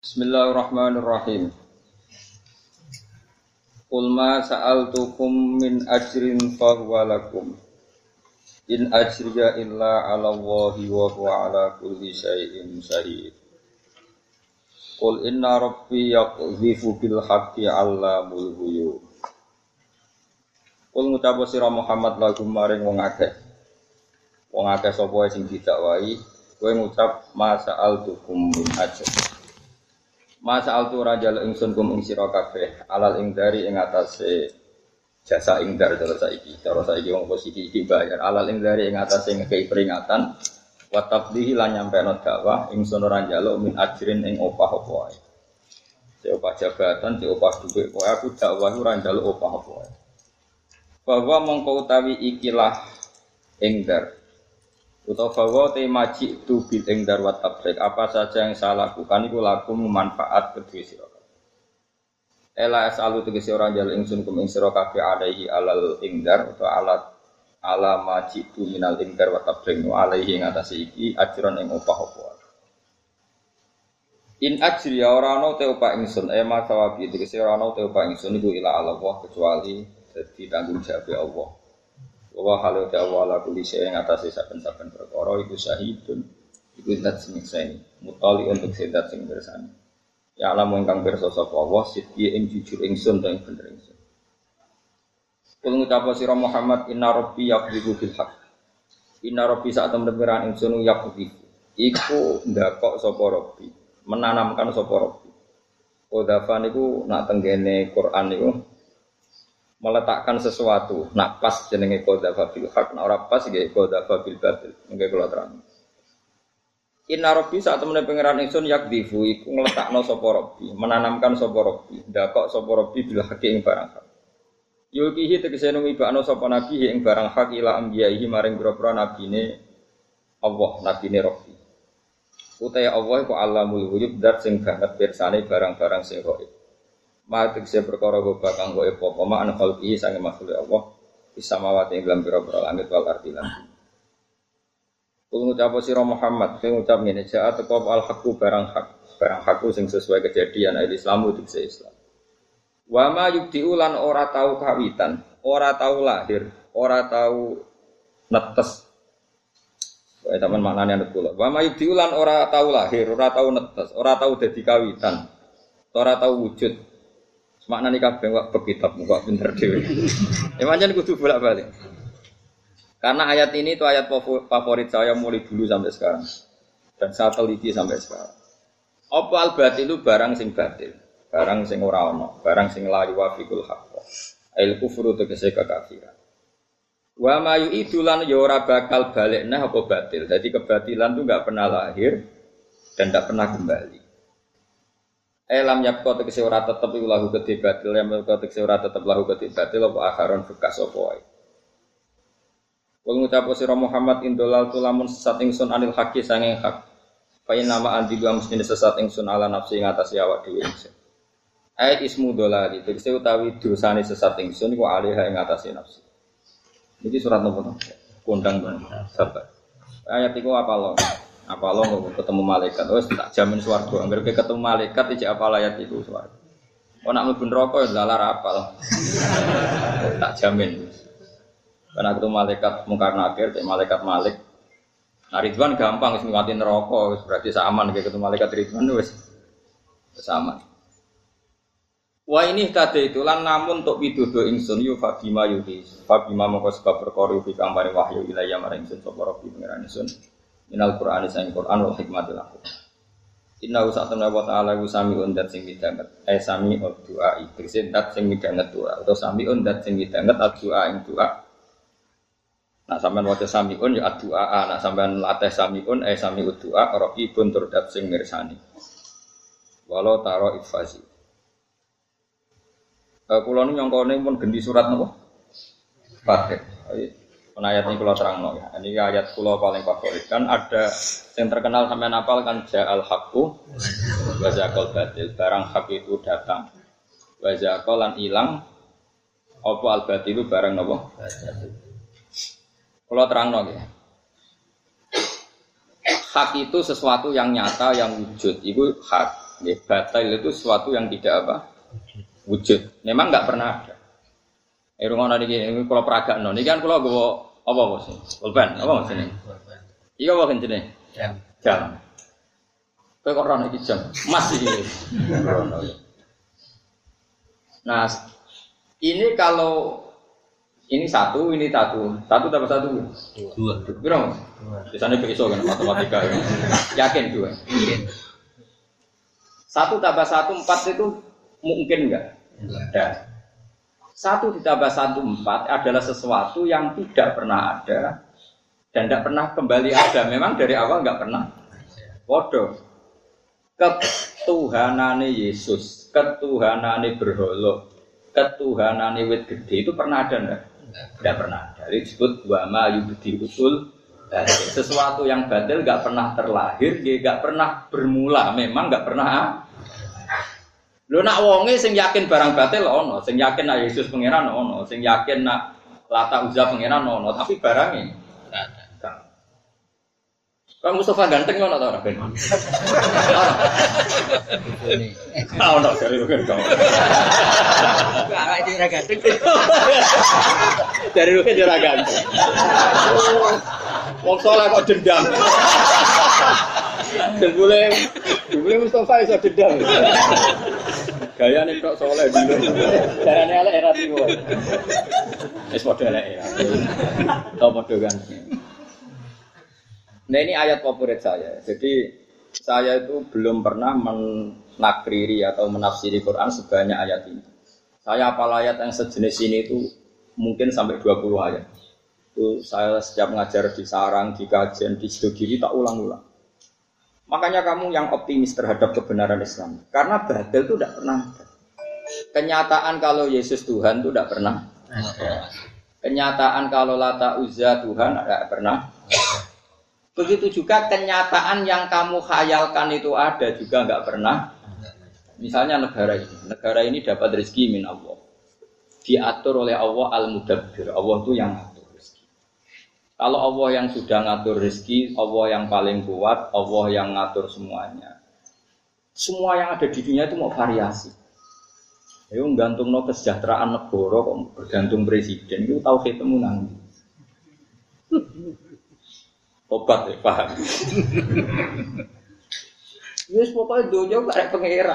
Bismillahirrahmanirrahim. Qul ma sa'altukum min ajrin fahuwa lakum. In ajriya illa 'ala Allahi wa huwa 'ala kulli syai'in syahid. Qul inna rabbi yaqdhifu bil haqqi 'allamul ghuyub. Qul ngucap sira Muhammad lagu maring wong akeh. Wong akeh sapa sing didakwahi, kowe ngucap ma sa'altukum min ajrin. Masa altu rajal ingsun kum ing sira kabeh alal ing dari ing atase jasa ing dar cara saiki wong posisi iki bayar alal ing dari ing atase ngekei peringatan wa tabdihi lan nyampeno dakwah ingsun ora njaluk min ajrin ing opah apa wae. Opah jabatan, opah dhuwit, kowe aku dakwah ora njaluk opah apa wae. Bahwa mongko utawi ikilah ing dar utawa bahwa temaji tu bil ing darwat tabrik apa saja yang saya lakukan iku lakum manfaat kedue sira kabeh. Ela asalu tegese ora njal ingsun kum ing sira kabeh alaihi alal ingdar utawa ala maji tu minal ingdar wa tabrik wa alaihi ing atase iki ajron ing opah apa. In ajri ora ana te opah ingsun ema sawabi tegese ora ana te opah ingsun iku ila Allah kecuali dadi tanggung jawab Allah. Wa halu ta'ala kulli syai'in atase saben-saben perkara iku syahidun iku zat sing nyekseni mutali untuk zat sing bersani ya alam ingkang pirsa sapa Allah sidhi ing jujur ingsun ta ing bener ingsun. Kul ngucap sira Muhammad inna rabbi yaqdibu bil haqq inna rabbi sak temen pengiran ingsun yaqdibu iku ndakok sapa rabbi menanamkan sapa rabbi kodafan iku nak tenggene Quran niku meletakkan sesuatu, nak pas jenenge qadzafa bil haq, nak ora pas nggih qadzafa bil batil. Nggih kula terang. Inna rabbi sak temene pangeran ingsun yakdifu iku ngletakno sapa rabbi, menanamkan sapa rabbi, ndakok sapa rabbi bil haqi ing barang hak. Yulkihi tegese numibakno sapa nabi ing barang hak ila ambiyaihi maring pira-pira nabine Allah, nabine rabbi. Utai Allah iku alamul ghuyub dat sing banget pirsane barang-barang sing gaib. Matik se perkara goba kang goe apa mak khalqi sange makhluk Allah bisa mawati ing dalam pira-pira langit wal ardi lan. Kul ngucap sira Muhammad, sing ngucap ngene jaat teko al haqqu barang hak sing sesuai kejadian Islam utik Islam. Wa ma yubdiu lan ora tau kawitan, ora tau lahir, ora tau netes. Wae teman maknane nek kula. Wa ma yubdiu lan ora tau lahir, ora tau netes, ora tau dadi kawitan, ora tau wujud. Maknane kabeh kok kitab kok pinter dhewe. Ya pancen kudu bolak-balik. Karena ayat ini itu ayat favorit saya mulai dulu sampai sekarang. Dan saya teliti sampai sekarang. Apa al-batil barang sing batil, barang sing ora ana, barang sing la yuwafiqul haqq. Al kufru tegese kekafiran. Wa ma yu'idulan ya ora bakal balekna apa batil. Jadi kebatilan itu enggak pernah lahir dan enggak pernah kembali. Lam yapko tegese ora tetep iku lahu kedhe batil lam yapko tegese ora tetep lahu kedhe batil apa akharon bekas apa wae. Wong ngucap sira Muhammad indolal tulamun sesat ingsun anil haqi sange hak. Fa inna ma andi wa mesti sesat ingsun ala nafsi ing atase awak dhewe ingsun. Ayat ismu dolali tegese utawi dosane sesat ingsun iku alih ing atase nafsi. Iki surat nomor kondang banget sabar. Ayat iku apa lo? Apa lo ketemu malaikat, wes tak jamin swarga. Angger ketemu malaikat iki apa ayat itu swarga. Oh nak mlebu neraka ya lalar apal. Tak jamin. Karena ketemu malaikat mungkar nakir, malaikat Malik. Nah Ridwan gampang wis ngliwati neraka, wis berarti aman kayak ketemu malaikat Ridwan wis aman. Wah ini tadi itu lan namun untuk pidodo ingsun yu fabima yuhi. Fabima mongko sebab perkara iki kang paring wahyu ilaya maring ingsun sapa Rabbi pangeran ingsun. Minal Qur'ani sang Qur'an wal hikmatil aku. Inna usatuna wa ta'ala sami'un dat sing midanget. Sami'ud du'a itu dat sing midanget doa atau sami'un dat sing midanget doa ing doa. Nah sampean waca sami'un ya doa, nah sampean latih sami'un sami'ud du'a raqibun tur dat sing mirsani. Walau taro ifasi. Kula nu nyongkone pun gendi surat napa? Fatih. Ayat ini kalau terang ya. Ini ayat kula paling favorit kan ada yang terkenal sampai napal kan ja'al haqqu wa zaqal batil barang hak itu datang wa zaqal lan ilang apa al batil barang napa kula terang ya. Hak itu sesuatu yang nyata yang wujud itu hak Nggih, batil itu sesuatu yang tidak apa? Wujud. Memang enggak pernah ada. Rungono niki kula peragakno. Niki kan kula nggawa apa Bos? Pulpen. Apa Mas ini? Iya apa jenenge? Jam. Kowe kok ora iki jam. Mas iki. Nah, ini kalau ini satu tambah satu. Dua. Berapa? Biasanya besok kan matematika. Yakin dua. Satu tambah satu 4 itu mungkin enggak? Enggak. 1 ditambah 1 4 adalah sesuatu yang tidak pernah ada dan tidak pernah kembali ada. Memang dari awal enggak pernah. Bodoh. Ketuhanane Yesus, ketuhanane berhala, ketuhanane wit gede itu pernah ada enggak? Tidak pernah. Jadi disebut wa ma yubdi usul. Sesuatu yang batil enggak pernah terlahir, dia enggak pernah bermula, memang enggak pernah. Lho nak wonge sing yakin barang batil ono, sing yakin nak Yesus pangeran ono, sing yakin nak Lata Uzza pangeran ono, tapi barangnya enggak. Kang Mustafa ganteng ngono ta ora ben? Ora. Ono dari rugen kau. Awak iki ora ganteng. Dari rugen ora ganteng. Wong saleh kok dendam. Dan boleh Mustafa iso dendam. Gayane kok saleh dino. Carane elek era tiwo. Wis padha elek ya. Tau padha ganteng. Nah ini ayat favorit saya. Jadi saya itu belum pernah menakriri atau menafsiri Quran sebanyak ayat ini. Saya hafal ayat yang sejenis ini itu mungkin sampai 20 ayat. Itu saya setiap ngajar di sarang, di kajian, di studi tak ulang-ulang. Makanya kamu yang optimis terhadap kebenaran Islam. Karena batil itu tidak pernah ada. Kenyataan kalau Yesus Tuhan itu tidak pernah ada. Kenyataan kalau Lata Uzza Tuhan tidak pernah. Begitu juga kenyataan yang kamu khayalkan itu ada juga enggak pernah. Misalnya negara ini dapat rezeki min Allah. Diatur oleh Allah Al-Mudabbir. Allah itu yang ngatur rezeki. Kalau Allah yang sudah ngatur rezeki, Allah yang paling kuat, Allah yang ngatur semuanya. Semua yang ada di dunia itu mau variasi. Ayo gantungno kesejahteraan negara kok bergantung presiden itu tauhid temu nang. Obat ya, paham. Yes, pokoknya dunia gak ada pengira.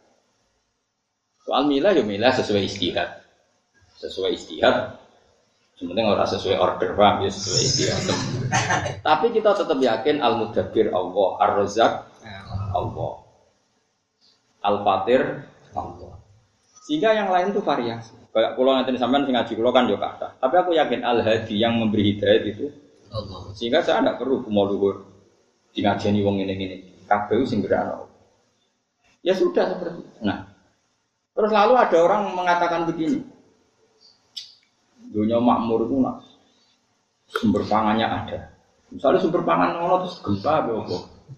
Soal milah ya milah sesuai istihad. Sesuai istihad. Sebenarnya orang sesuai order, paham ya sesuai istihad. Tapi kita tetap yakin Al-Mudabbir Allah, Ar-Razzaq Allah, Al-Fatir Allah. Sehingga yang lain itu variasi. Kayak kalau nanti sampean sing ngaji kula kan yo kathah. Tapi aku yakin Al-Hadi yang memberi hidayah itu Allah. Sehingga saya tidak perlu mau luhur di ngajeni wong ini. Kabeh sing berano. Ya sudah seperti itu. Nah, terus lalu ada orang mengatakan begini. Dunia makmur itu nak sumber pangannya ada. Misalnya sumber pangan ono terus gempa apa?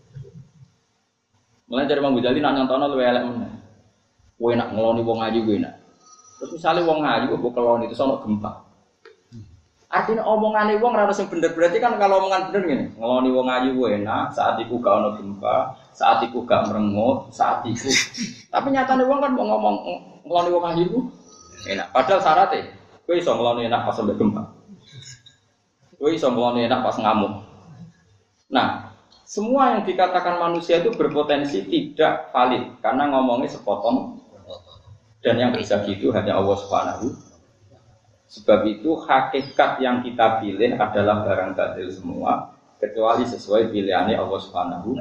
Mulai dari Mang Ghazali nak nyontono luwe elek meneh. Kowe nak ngeloni wong ayu kowe nak. Terus misalnya wong ayu kok keloni terus ono gempa. Artinya omongannya wong ora sing bener, berarti kan kalau omongan bener ngene, ngeloni wong ayu enak, saat iku gak ono gempa, saat iku gak merengut, saat iku. Tapi nyatane wong kan mau ngomong ngeloni wong ayu enak. Padahal syaratnya kowe iso ngeloni enak pas sampe gempa. Kowe iso ngeloni enak pas ngamuk. Nah, semua yang dikatakan manusia itu berpotensi tidak valid karena ngomongnya sepotong dan yang bisa gitu hanya Allah Subhanahu. Sebab itu hakikat yang kita pilih adalah barang batil semua kecuali sesuai pilihannya Allah Subhanahu.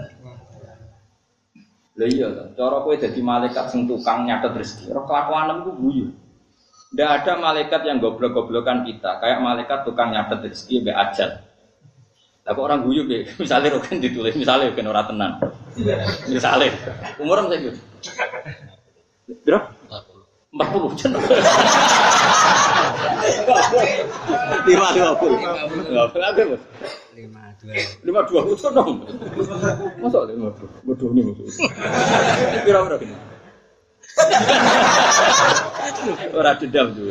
Lah iya to, cara kowe dadi malaikat sing tukang nyatet rezeki, ora kelakuanem ku guyu. Ndak ada malaikat yang goblok-goblokan kita, kayak malaikat tukang nyatet rezeki mbek ajal. Lah kok orang guyu be, misale roken ditulis, misale ben ora tenan. Misale umur saiki. Berapa? 40 jen. 5 52 itu dong. Masa 52? Bodoh nih maksud. Kira-kira gini. Ora dendam dulu.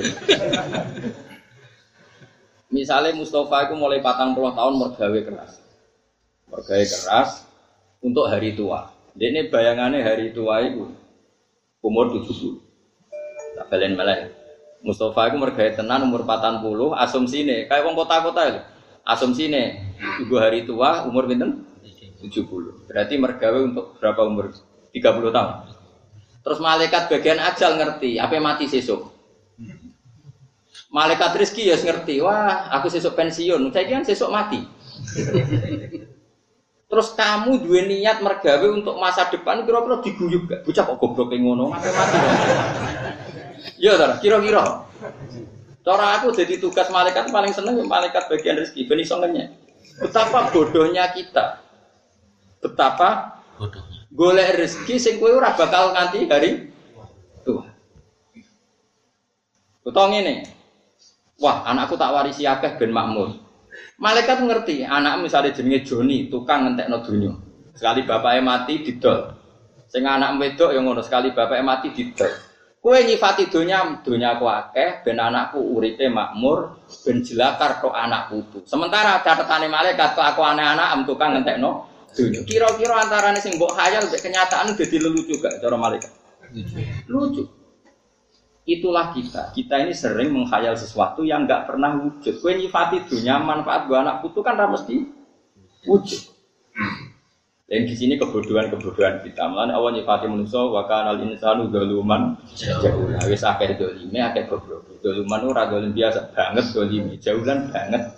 Misalnya Mustafa itu mulai 40 tahun mergawe keras. Mergawe keras untuk hari tua. Dene bayangane hari tua iku umur 70. Tak balen malah. Mustafa iku mergawe tenan umur 40, asumsine kaya wong kota-kota lho. Asumsine ibu hari tua umur pinten? 70. Berarti mergawe untuk berapa umur? 30 tahun. Terus malaikat bagian ajal ngerti, apa mati sesuk. Malaikat rezeki ya ngerti, wah aku sesuk pensiun, saya kan sesuk mati. Terus kamu dua niat mergawe untuk masa depan, kira-kira diguyub gak? Bocah kok goblok ngono, mati. Ya ta, kira-kira. Cara aku jadi tugas malaikat paling seneng malaikat bagian rezeki, ben iso ngenyek. Betapa bodohnya kita. Betapa bodohnya. Golek rezeki sing kowe ora bakal nganti hari tua. Utawa ngene. Wah, anakku tak warisi akeh ben makmur. Malaikat ngerti, anak misalnya jenenge Joni, tukang ngentekno donya. Sekali bapaknya mati didol. Sing anak wedok ya ngono, sekali bapaknya mati didol. Kowe nyifati donya aku akeh ben anakku uripe makmur, ben jelakar tok anak putu. Sementara catetane malaikat kok aku anak-anak tukang ngentekno donya. Kira-kira antarane sing mbok khayal mek kenyataan dadi lelucu gak cara malaikat? Lucu. Itulah kita. Kita ini sering menghayal sesuatu yang enggak pernah wujud. Kowe nyifati dunia manfaat gua anak putu kan ra mesti wujud. Dan di sini kebodohan kita. Mulane Allah nyifati manusa wa kanal insanu zaluman jahula. Wis akeh dolime, akeh goblok. Zaluman ora dolim biasa banget dolime, jahulan banget.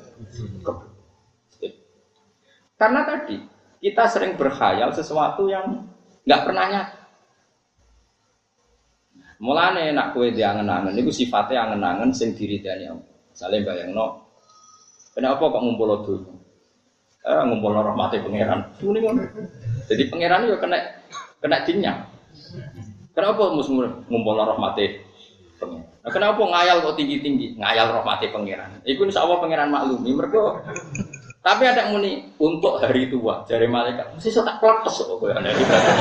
Karena tadi kita sering berkhayal sesuatu yang enggak pernah nyata. Mulane nak kowe diangen-angen niku sifate angen-angen sing diridani Allah. Misale bayangno kenapa kok ngumpul donya? Ngumpul rahmate pangeran. Muni ngono. Jadi pangeran yo kena dinyang. Kenapa ngumpul rahmate pangeran? Nah, kenapa ngayal kok tinggi-tinggi? Ngayal rahmate pangeran. Iku insyaallah pangeran maklumi. Mergo tapi ada muni untuk hari tua jare malaikat. Mesti tak kletes kok kowe ana.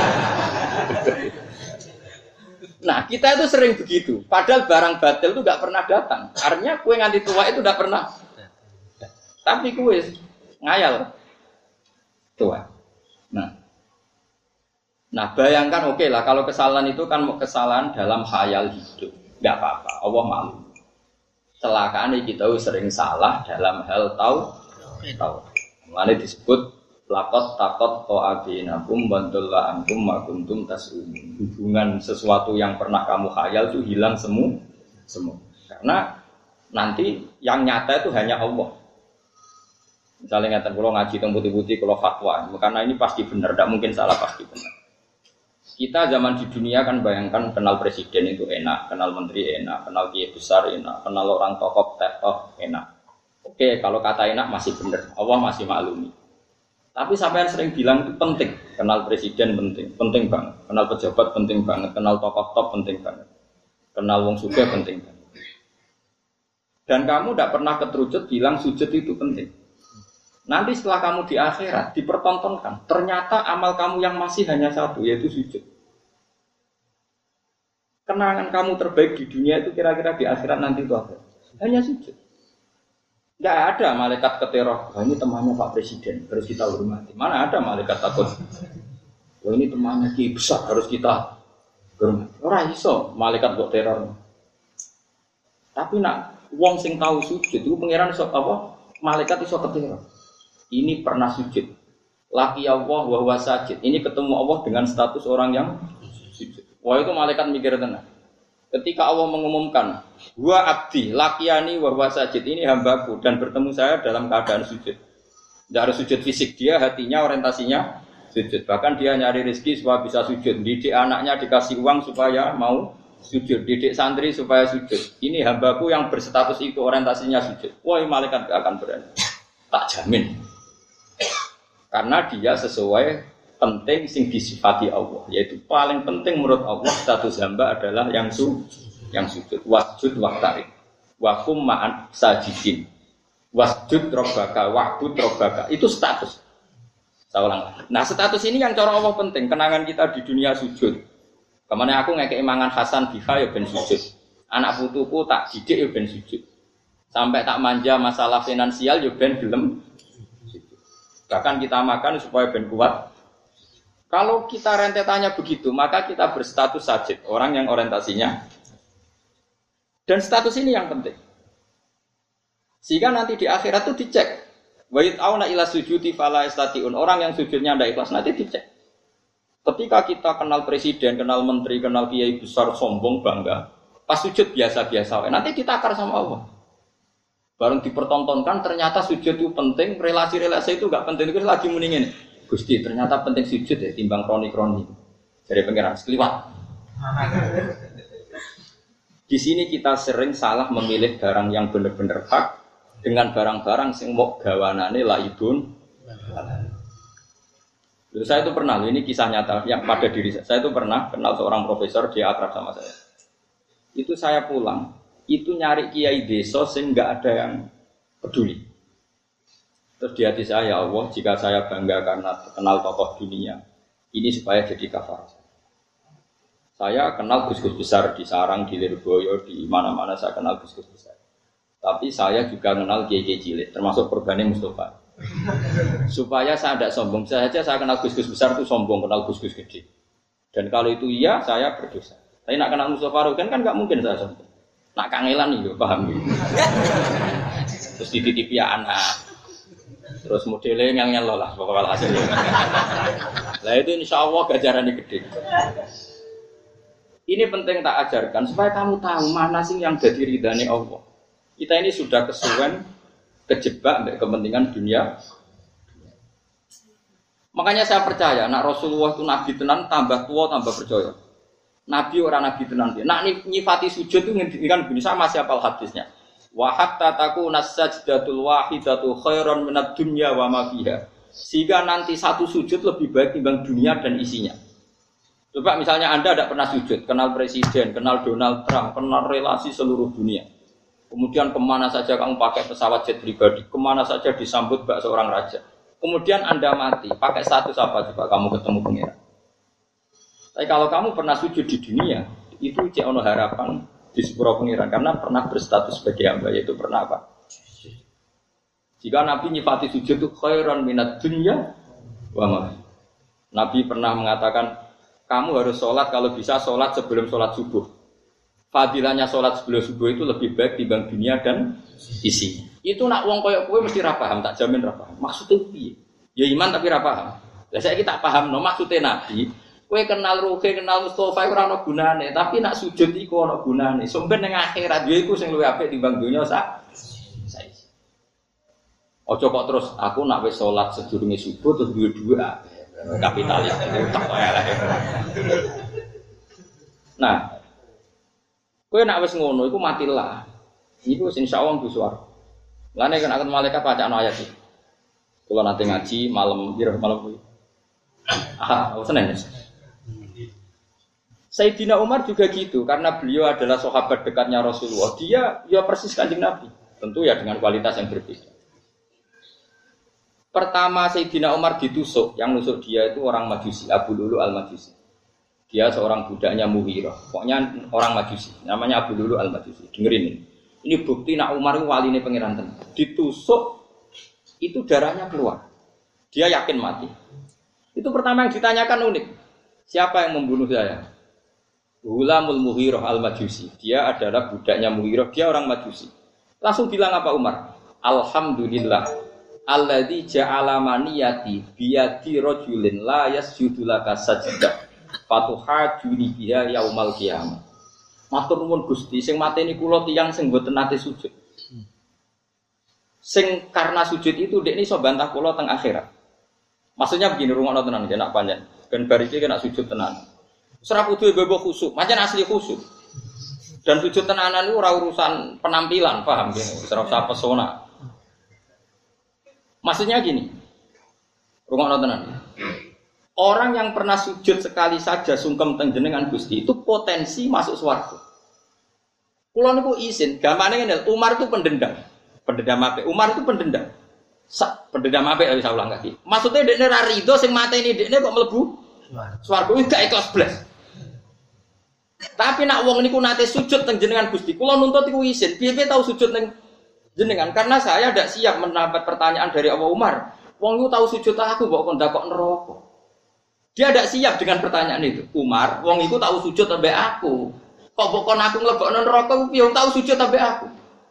Nah, kita itu sering begitu. Padahal barang batil itu enggak pernah datang. Artinya kue nganti tua itu enggak pernah. Tapi kue ngayal tua. Nah, bayangkan oke lah kalau kesalahan itu kan kesalahan dalam khayal hidup. Enggak apa-apa. Allah malu. Celakaan kita sering salah dalam hal tahu. Makanya disebut lakot takot to'abinakum bantulah antum makuntum tas'umin. Hubungan sesuatu yang pernah kamu khayal itu hilang semua. Karena nanti yang nyata itu hanya Allah. Misalnya ngatakan kalau ngaji tentang putih-putih, kalau fatwa, karena ini pasti benar, tidak mungkin salah, pasti benar. Kita zaman di dunia kan bayangkan kenal presiden itu enak, kenal menteri enak, kenal kiai besar enak, kenal orang tokoh enak. Oke, kalau kata enak masih benar, Allah masih maklumi. Tapi sampai yang sering bilang itu penting. Kenal presiden penting banget. Kenal pejabat penting banget. Kenal tokoh top penting banget. Kenal wong sugih penting banget. Dan kamu tidak pernah keterucut bilang sujud itu penting. Nanti setelah kamu di akhirat dipertontonkan. Ternyata amal kamu yang masih hanya satu, yaitu sujud. Kenangan kamu terbaik di dunia itu kira-kira di akhirat nanti itu apa? Hanya sujud. Tidak ada malaikat keteror. Ini temannya Pak Presiden, harus kita hormati. Mana ada malaikat takut? Ini temannya Ki besar, harus kita hormati. Orang iso malaikat kok teror. Tapi nak wong sing tahu sujud itu pangeran iso apa? Malaikat iso keteror. Ini pernah sujud. Laki Allah wa huwa sajid. Ini ketemu Allah dengan status orang yang sujud. Wah itu malaikat mikir tenang. Ketika Allah mengumumkan, wa abdi lakiani wa huwa sajid, ini hambaku dan bertemu saya dalam keadaan sujud. Tidak harus sujud fisik, dia hatinya orientasinya sujud. Bahkan dia nyari rezeki supaya bisa sujud. Didik anaknya dikasih uang supaya mau sujud. Didik santri supaya sujud. Ini hambaku yang berstatus itu orientasinya sujud. Wah, malaikat gak akan berani. Tak jamin. Karena dia sesuai penting sing disifati Allah, yaitu paling penting menurut Allah status hamba adalah yang sujud. Wasjud waqtarib wa kum ma'an sajidin. Wasjud rabbaka wa'bud rabbaka. Itu status. Saya ulang. Nah, status ini yang cara Allah penting. Kenangan kita di dunia sujud. Kemana aku ngekei mangan Hasan Biha ya ben sujud. Anak putuku tak didik ya ben sujud. Sampai tak manja masalah finansial ya ben gelem sujud. Bahkan kita makan supaya ben kuat. Kalau kita rentetannya begitu, maka kita berstatus sajid, orang yang orientasinya. Dan status ini yang penting. Sehingga nanti di akhirat itu dicek. Wa yut'auna ila sujudi fala yastati'un. Orang yang sujudnya tidak ikhlas nanti dicek. Ketika kita kenal presiden, kenal menteri, kenal kiai besar, sombong, bangga, pas sujud biasa-biasa, nanti ditakar sama Allah. Bareng dipertontonkan, ternyata sujud itu penting, relasi-relasi itu gak penting, itu lagi muningin. Gusti, ternyata penting sujud ya, timbang kroni-kroni. Dari pengiran, sekeliwat. Di sini kita sering salah memilih barang yang benar-benar hak, dengan barang-barang yang mau gawanane laibun. Saya itu pernah, ini kisah nyata yang pada diri saya. Saya itu pernah kenal seorang profesor, dia akrab sama saya. Itu saya pulang, itu nyari kiai desa sehingga nggak ada yang peduli. Terus di hati saya, ya Allah, jika saya bangga karena kenal tokoh dunia, ini supaya jadi kafar. Saya kenal gus-gus besar di Sarang, di Lirboyo, di mana-mana saya kenal gus-gus besar. Tapi saya juga kenal kiai-kiai cilik, termasuk Purbani Mustafa. Supaya saya tidak sombong saja, saya kenal gus-gus besar itu sombong, kenal gus-gus gede. Dan kalau itu iya, saya berdosa. Tapi nak kenal Mustafa Rukin kan nggak mungkin saya sombong. Nak kangelan nih, paham gitu. Terus dititipi anak, terus modelnya yang lah, pokoknya hasilnya. Lah itu insya Allah gajarannya gede. Ini penting tak ajarkan supaya kamu tahu mana sih yang jadi ridhani Allah. Kita ini sudah kesuwen kejebak untuk kepentingan dunia. Makanya saya percaya, nak Rasulullah itu nabi tenan, tambah tua tambah percaya. Nabi orang nabi tenan dia. Nak nyifati sujud itu ngendikan begini, sama siapa hadisnya. Wa hatta takuna sajdatul wahidatu khairan minad dunya wa ma fiha. Sehingga nanti satu sujud lebih baik timbang dunia dan isinya. Coba misalnya Anda tidak pernah sujud, kenal presiden, kenal Donald Trump, kenal relasi seluruh dunia. Kemudian kemana saja kamu pakai pesawat jet pribadi, kemana saja disambut bak seorang raja. Kemudian Anda mati, pakai status apa coba kamu ketemu pengiran. Tapi kalau kamu pernah sujud di dunia, itu cek ono harapan di sepuro pengiran karena pernah berstatus sebagai hamba, yaitu pernah apa? Jika Nabi nyifati sujud itu khairan minad dunya wa ma. Nabi pernah mengatakan, kamu harus sholat kalau bisa sholat sebelum sholat subuh. Fadilahnya sholat sebelum subuh itu lebih baik dibanding dunia dan isinya. Itu nak wong koyok kue mesti rapaham, tak jamin rapaham. Maksudnya piye? Ya iman tapi rapaham. Lah saya kita paham no maksudnya Nabi. Kue kenal Ruhe, kenal Mustafa ora ono gunane, tapi nak sujud iku ono gunane. Sampai ning akhirat yo iku sing luwih apik timbang dunia saiki. Ojo kok terus aku nak wis sholat sedurunge subuh terus duwe kapitalis tak elek. Nah, kowe nak wis ngono iku matilah. Iku insyaallah ku swarga. Lane kan akan malaikat bacaan ayat iki. Kula nate ngaji malam kuwi. Senin. Sayyidina Umar juga gitu karena beliau adalah sahabat dekatnya Rasulullah. Dia ya persis Kanjeng Nabi. Tentu ya dengan kualitas yang berbeda. Pertama Sayyidina Umar ditusuk, yang nusuk dia itu orang Majusi, Abu Lulu al-Majusi. Dia seorang budaknya Mughirah. Pokoknya orang Majusi, namanya Abu Lulu al-Majusi. Dengerin ini. Ini bukti nak Umar itu waline pangeran tenan. Ditusuk itu darahnya keluar. Dia yakin mati. Itu pertama yang ditanyakan unik. Siapa yang membunuh saya? Ghulamul Mughirah al-Majusi. Dia adalah budaknya Mughirah, dia orang Majusi. Langsung bilang apa Umar? Alhamdulillah. Alladzi ja'ala maniyati biyadi rajulin la yasjudu laka sajdah fatuhajuni biha yaumal qiyamah. Matur nuwun Gusti, sing mateni kula tiyang sing mboten nate sujud. Sing karena sujud itu dekne iso bantah kula teng akhirat. Maksudnya begini, rungokno tenan nek panjen. Ben bar iki kena sujud tenan. Ora kudu bebo khusuk, pancen asli khusuk. Dan sujud tenanan itu ora urusan penampilan, paham nggih? Ora usah pesona. Maksudnya gini, rungokno tenan. Orang yang pernah sujud sekali saja sungkem teng jenengan Gusti itu potensi masuk swarga. Kula niku izin, gamane ngene, Umar itu pendendam. Pendendam apik. Umar itu pendendam. Pendendam apik wis ulang lagi. Maksudnya dekne ra rido sing mateni dekne kok mlebu swarga wis gak ikhlas blas. Tapi nak wong niku nate sujud teng jenengan Gusti, kula nuntut iku izin. Piye-piye tau sujud teng jenengan karena saya tidak siap mendapat pertanyaan dari Abu Umar. Wong itu tahu sujud aku kok ndak kok neraka. Dia tidak siap dengan pertanyaan itu. Umar, wong iku tahu sujud sampai aku. Kok pokon aku nglebokno neraka piye wong tahu sujud sampai aku.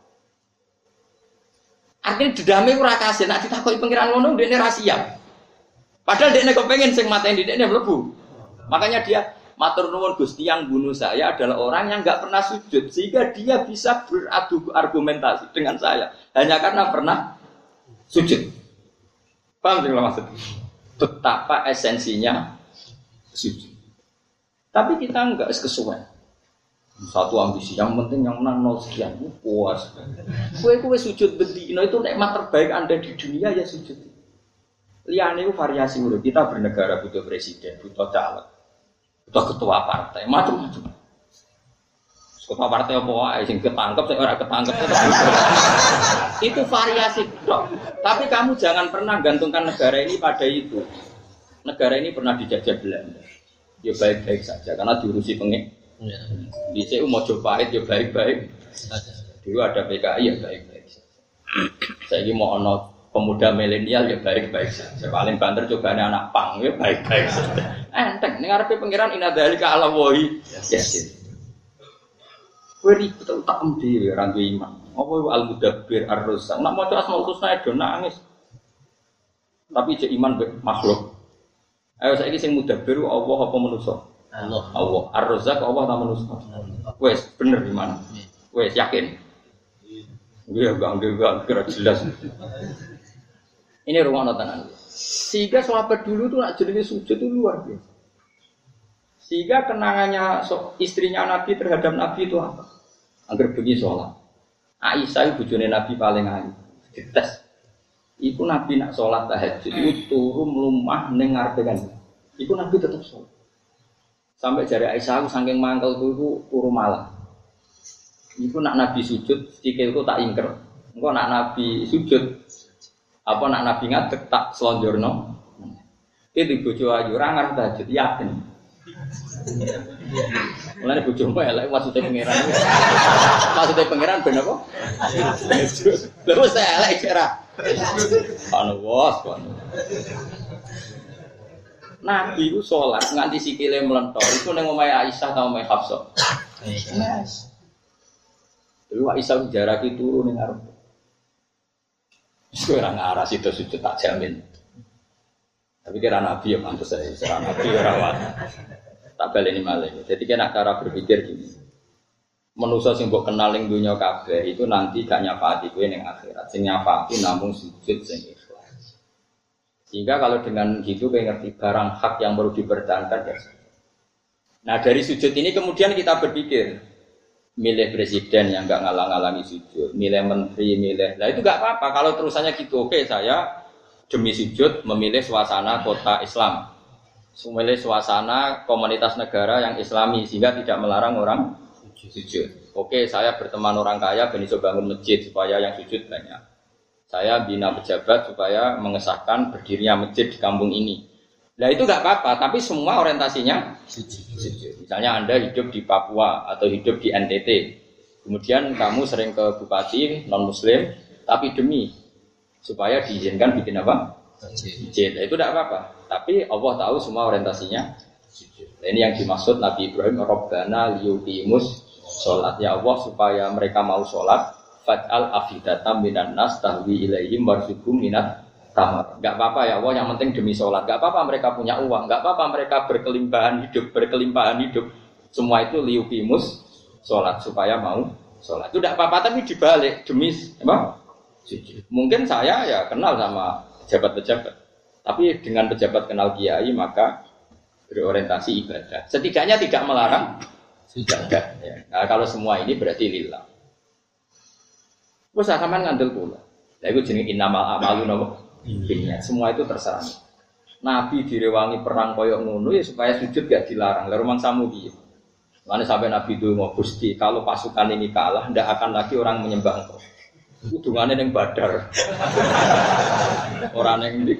Artinya dedame ora kasih, nek ditakoki pengiran ngono ndekne ra siap. Padahal dekne kepengin sing mateni dekne mlebu. Makanya dia matur nuwun Gusti yang bunuh saya adalah orang yang enggak pernah sujud sehingga dia bisa beradu argumentasi dengan saya hanya karena pernah sujud. Paham tidak maksud? Betapa esensinya sujud. Tapi kita enggak kesuwen. Satu ambisi yang penting yang menang 0 sekian puas. Kue sujud bedino itu nikmat terbaik Anda di dunia ya sujud. Liane itu variasi udah kita bernegara butuh presiden, butuh caleg, butuh ketua partai, macam-macam. Ketua partai apa wae sing ketangkep sing ora ketangkep itu variasi dok. Tapi kamu jangan pernah gantungkan negara ini pada itu. Negara ini pernah dijajah Belanda. Ya baik-baik saja karena diurusi pengek. Di CU Mojopahit ya baik-baik. Dulu ada PKI ya baik-baik. Saya ini mau ono pemuda milenial ya baik-baik saja. Paling banter cobaane anak pang ya baik-baik saja. Enteng ning arepe pangeran inadzalika ala wahi. Yes. Kowe ribet tak emdi ra duwe iman. Apa iku al-mudabbir ar-razzaq. Nek maca Asmaul Husna do nangis. Tapi cek iman makhluk. Ayo saiki sing mudabbir Allah apa manusa? Allah. Ar-Razzaq Allah ta manusa? Wes bener di mana? Wes yakin? Iya enggak kira jelas. Ini ruang tenan. Sehingga sahabat dulu tuh nak jenenge sujud itu luar biasa. Sehingga kenangannya istrinya Nabi terhadap Nabi itu apa? Agar pergi sholat. Aisyah itu bojone Nabi paling ayu. Dites. Iku Nabi nak sholat tahajud itu turu mlumah ning ngarepe kan. Iku Nabi tetap sholat. Sampai jari Aisyah aku saking mangkel itu turu malah. Iku nak Nabi sujud, sikilku tak ingker. Engko nak Nabi sujud, apa nak Nabi ngadeg tak selonjorno. Itu bojo ayu ora ngarep tahajud yakin. Mulane bojomu elek maksudnya pangeran. Maksudnya pangeran ben apa? Lha wis elek kira. Anu wos. Nabi itu sholat nganti sikile melentor itu neng omahe Aisyah ta omahe Hafsah. Yes. Dulu Aisyah jarake turu ning arep. Wis ora ngaras itu sujud tak jamin. Tapi kira Nabi ya pantes saya, kira Nabi ora wae. Tak baleni malih. Jadi kena cara berpikir gini. Manusa sing mbok kenal ning donya kabeh itu nanti gak nyafati kowe ning akhirat. Sing nyafati namung sujud sing sehingga kalau dengan gitu kayak ngerti barang hak yang perlu dipertahankan ya. Nah dari sujud ini kemudian kita berpikir milih presiden yang nggak ngalang-alangi sujud, milih menteri, milih. Nah itu nggak apa-apa kalau terusannya gitu. Oke, saya demi sujud memilih suasana kota Islam, memilih suasana komunitas negara yang Islami sehingga tidak melarang orang sujud. Oke, saya berteman orang kaya ben iso bangun masjid supaya yang sujud banyak. Saya bina pejabat supaya mengesahkan berdirinya masjid di kampung ini. Nah itu nggak apa-apa, tapi semua orientasinya sujud. Misalnya Anda hidup di Papua atau hidup di NTT, kemudian kamu sering ke bupati non Muslim, tapi demi supaya diizinkan bikin apa? Masjid. Nah, itu tidak apa-apa. Tapi Allah tahu semua orientasinya sujud. Nah, ini yang dimaksud Nabi Ibrahim, Rabbana liyuqimus sholat. Ya Allah supaya mereka mau sholat. Faj'al afidatam minan nas tahwi ilaihim warzuqhum minat tamar. Enggak apa-apa ya Allah, yang penting demi sholat. Enggak apa-apa mereka punya uang, enggak apa-apa mereka berkelimpahan hidup. Semua itu liyuqimus sholat supaya mau sholat. Itu enggak apa-apa tapi dibalik demi apa? Mungkin saya ya kenal sama pejabat-pejabat. Tapi dengan pejabat kenal kiai maka berorientasi ibadah. Setidaknya tidak melarang ibadah ya. Nah, kalau semua ini berarti lillah. Wes sampean ngandel kula. Lha iku jenenge innamal a'malu binniyat. Semua itu terserah. Nabi direwangi perang koyo ngono ya supaya sujud gak dilarang. Lah rumangsamu piye? Mane sampai Nabi donga Gusti, kalau pasukan ini kalah ndak akan lagi orang menyembah Engkau. Hubungane ning Badar. Ora ning ndi.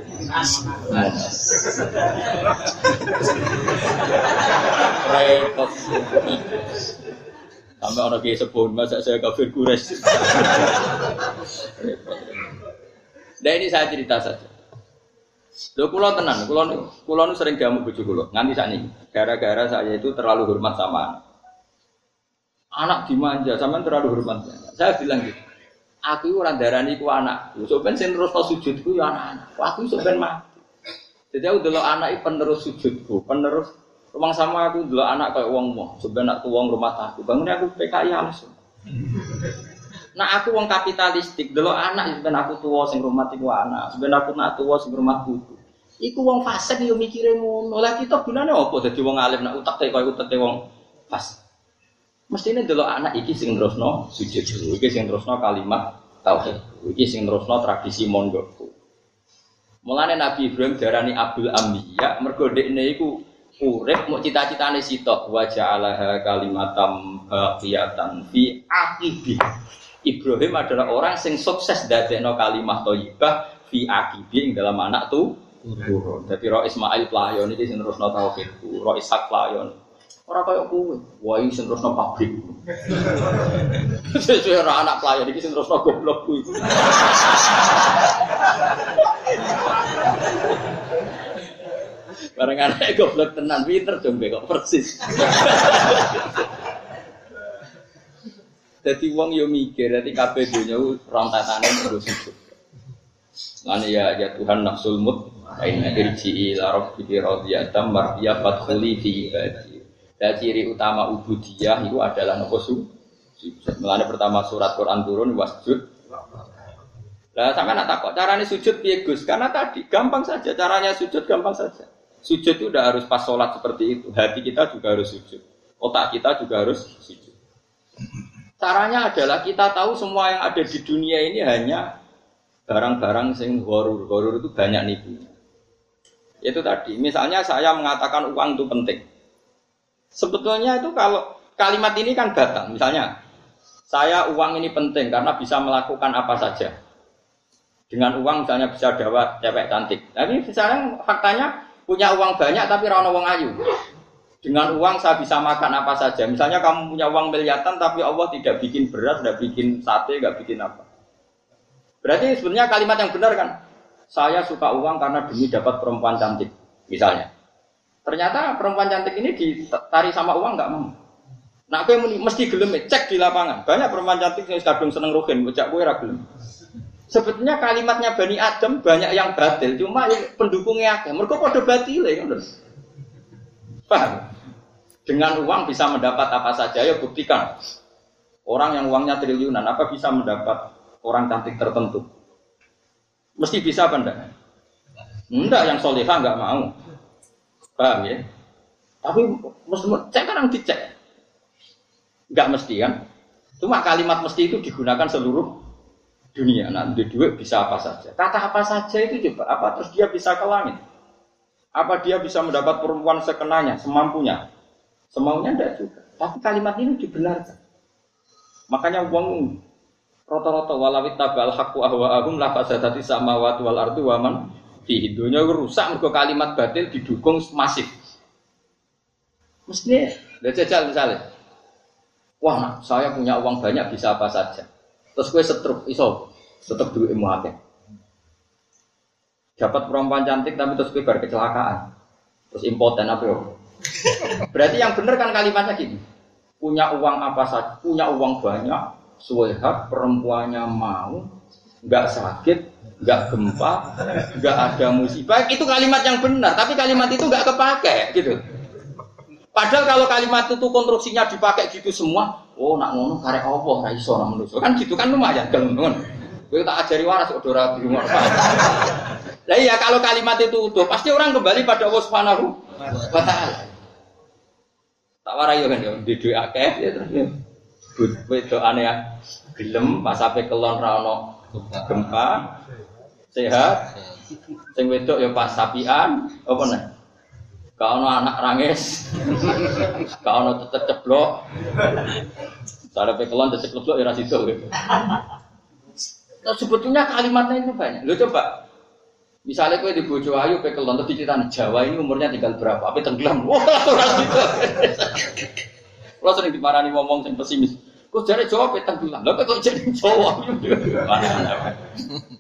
Repot. Sampai orang kiai sepuh, masa saya kafir Quraisy. Nah ini saya cerita saja. Lho kula tenan, kula nu sering diamuk bojo kula. Nganti sakniki. Gara-gara saya itu terlalu hormat sama anak. Anak dimanja, sampean terlalu hormat. Saya bilang gitu. Aku ora darani ku anak. Sampeyan sing terusno sujudku ya anak-anak. Aku sampeyan mati. Jadi aku delok anak iki penerus sujudku, penerus rumang sama aku delok anak kayak wong-wong. Sampeyan nak tuwong rumah aku. Bangun aku PKI halus. Nah aku wong kapitalistik, delok anak sampeyan aku tuwa sing rumah iku anak. Sampeyan aku nak tuwa sing rumah putu. Iku wong fasik yo mikire ngono. Lah kita gunane apa dadi wong alim nak utek kaya uteke wong fasik. Mestine delok anak iki sing terusno sujud, iki sing terusno kalimat tauhid, iki sing terusno tradisi mondokku. Mulane Nabi Ibrahim diarani Abdul Anbiya mergo dekne iku urip muk cita-citane sitok wa ja'alaha kalimatam baqiyatan fi aqibi. Ibrahim adalah orang sing sukses dadekno kalimat thayyibah fi aqibi ing dalam anak tu turun. Dadi Ro Ismail Playon iki sing terusno tauhidku, Ro Ishak Playon. Ora kaya kowe, wae sing terusno pabrik. Sesuai ora anak playon iki sing terusno goblok kuwi. Bareng anake goblok tenan pinter jombe kok persis. Dadi wong yo mikir, dadi kabeh donya rontatane terus sujud. Lan ya Tuhan nafsul mut aina irji ila rabbiki radiyatan mardiya fadkhuli fi ibadi. Dan ciri utama ubudiyah itu adalah nopo sujud. Mulane pertama surat Quran turun wasjud. Lah sampeyan nak takok carane sujud piye Gus? Karena tadi gampang saja caranya sujud gampang saja. Sujud itu udah harus pas salat seperti itu. Hati kita juga harus sujud. Otak kita juga harus sujud. Caranya adalah kita tahu semua yang ada di dunia ini hanya barang-barang sing gharur. Gharur itu banyak nipunya. Itu tadi. Misalnya saya mengatakan uang itu penting. Sebetulnya itu kalau kalimat ini kan batal. Misalnya, saya uang ini penting karena bisa melakukan apa saja. Dengan uang misalnya bisa dapat cewek cantik. Tapi misalnya faktanya punya uang banyak tapi ra ono wong ayu. Dengan uang saya bisa makan apa saja. Misalnya kamu punya uang miliaran tapi Allah tidak bikin beras, tidak bikin sate, tidak bikin apa. Berarti sebenarnya kalimat yang benar kan? Saya suka uang karena demi dapat perempuan cantik. Misalnya. Ternyata perempuan cantik ini ditarik sama uang nggak mau. Nah, aku mesti gelem cek di lapangan. Banyak perempuan cantik yang kadung seneng rohin, bocah kowe ra gelem. Sebetulnya kalimatnya Bani Adam banyak yang batil, cuma pendukungnya akeh. Mergo padha batile ngono. Paham? Dengan uang bisa mendapat apa saja, ya buktikan. Orang yang uangnya triliunan, apa bisa mendapat orang cantik tertentu? Mesti bisa apa enggak? Enggak, yang solehah enggak mau. Paham ya? Tapi mesti cek kan yang dicek. Enggak mesti kan? Cuma kalimat mesti itu digunakan seluruh dunia. Nah, di duit bisa apa saja. Kata apa saja itu coba. Apa terus dia bisa ke langit? Apa dia bisa mendapat perempuan sekenanya, semampunya? Semaunya enggak juga. Tapi kalimat ini dibenarkan. Makanya uang rata-rata walawit tabal haqqu ahwa'ahum la fasadati samawati wal ardu wa man fi dunya rusak mergo kalimat batil didukung masif. Mestinya jajal misalnya. Wah, nah, saya punya uang banyak bisa apa saja. Terus gue setruk iso tetep duitmu akeh. Dapat perempuan cantik tapi terus gue bar kecelakaan. Terus impoten apa yo? Berarti yang benar kan kalimatnya gini. Punya uang apa saja, punya uang banyak, suwehat perempuannya mau, enggak sakit, enggak gempa, enggak ada musibah. Itu kalimat yang benar, tapi kalimat itu enggak kepake gitu. Padahal kalau kalimat itu konstruksinya dipakai gitu semua, oh nak ngono karek apa ra iso nak manusa. Kan gitu kan lumayan gelem ngono. Kowe tak ajari waras kok ora di rumah. Lah iya kalau kalimat itu utuh, pasti orang kembali pada Allah Subhanahu wa taala. Tak warai yo kan yo di dhuwit akeh ya terus yo. Wedokane gelem pas ape kelon ra ono gempa, sehat. Sing wedok yo pas sapian, apa nek? Gak ono anak rangis. Gak ono ceblok. Sarepe kelon ceblok ya ra sido. Nah, sebetulnya kalimatnya itu banyak. Lo coba, misalnya kowe di bojo ayu pe kelon terus diceritani Jawa ini umurnya tinggal berapa? Ape tenggelam. Wah, ora sido. Lo sering dimarani ngomong sing pesimis. Kok jare Jawa pe tenggelam. Lha kok jadi Jawa.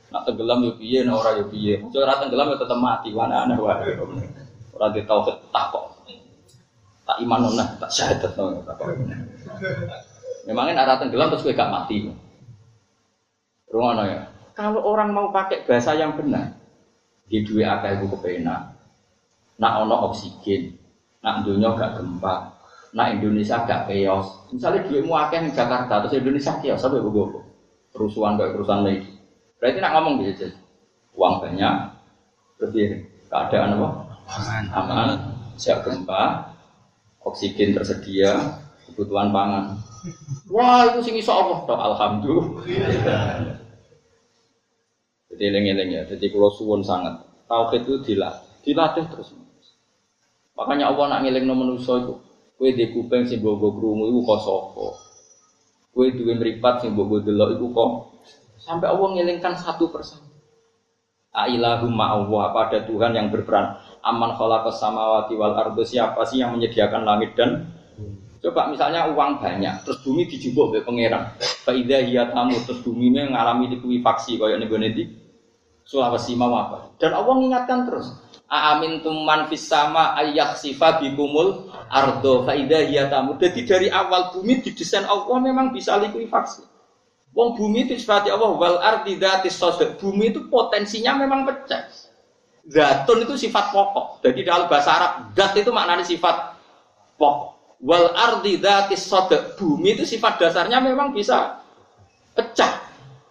Nak tenggelam yo piye, nak ora yo piye. Ora tenggelam yo tetep mati, aneh wae. Ora ditauhid tak kok. Tak iman nah, tak syahadat no tak kok. Memangnya arah tenggelam terus kowe gak mati. Rungono ya. Kalau orang mau pakai bahasa yang benar, di duwe akeh iku kepenak. Nak ono oksigen, nak dunya gak gempa, nak Indonesia gak chaos. Misalnya duitmu akeh di Jakarta terus Indonesia chaos sampai gogo. Kerusuhan kayak kerusuhan lagi. Berarti nak ngomong gitu aja. Uang banyak, lebih keadaan apa? Aman, siap gempa, oksigen tersedia, kebutuhan pangan. Wah itu sing iso Allah, alhamdulillah. Jadi eling-eling ya. Jadi kalau suwun sangat tauhid itu dilatih terus. Makanya Allah nak ngelingno manusa iku, kowe ndek kuping sing mbok krungu iku kok sapa? Kowe duwe mripat sing mbok delok iku kok sampai Allah ngelingkan satu persatu. Ailahumma Allah, apa ada Tuhan yang berperan? Aman khalaqas samawati wal ardo, siapa sih yang menyediakan langit dan coba misalnya uang banyak, terus bumi dijupuk oleh pangeran. Fa idza hiya tamut, terus bumi mengalami likuifaksi kaya ning gone iki Sulawesi mau apa? Dan Allah mengingatkan terus. Aamintum man fis sama ayakhsifa bikumul ardo fa idza hiya tamut. Jadi dari awal bumi didesain Allah memang bisa likuifaksi. Wong bumi itu sifat Allah wal ardi dzatis sadq. Bumi itu potensinya memang pecah. Zatun itu sifat pokok. Jadi dalam bahasa Arab zat itu maknanya sifat pokok. Wal ardi dzatis sadq. Bumi itu sifat dasarnya memang bisa pecah.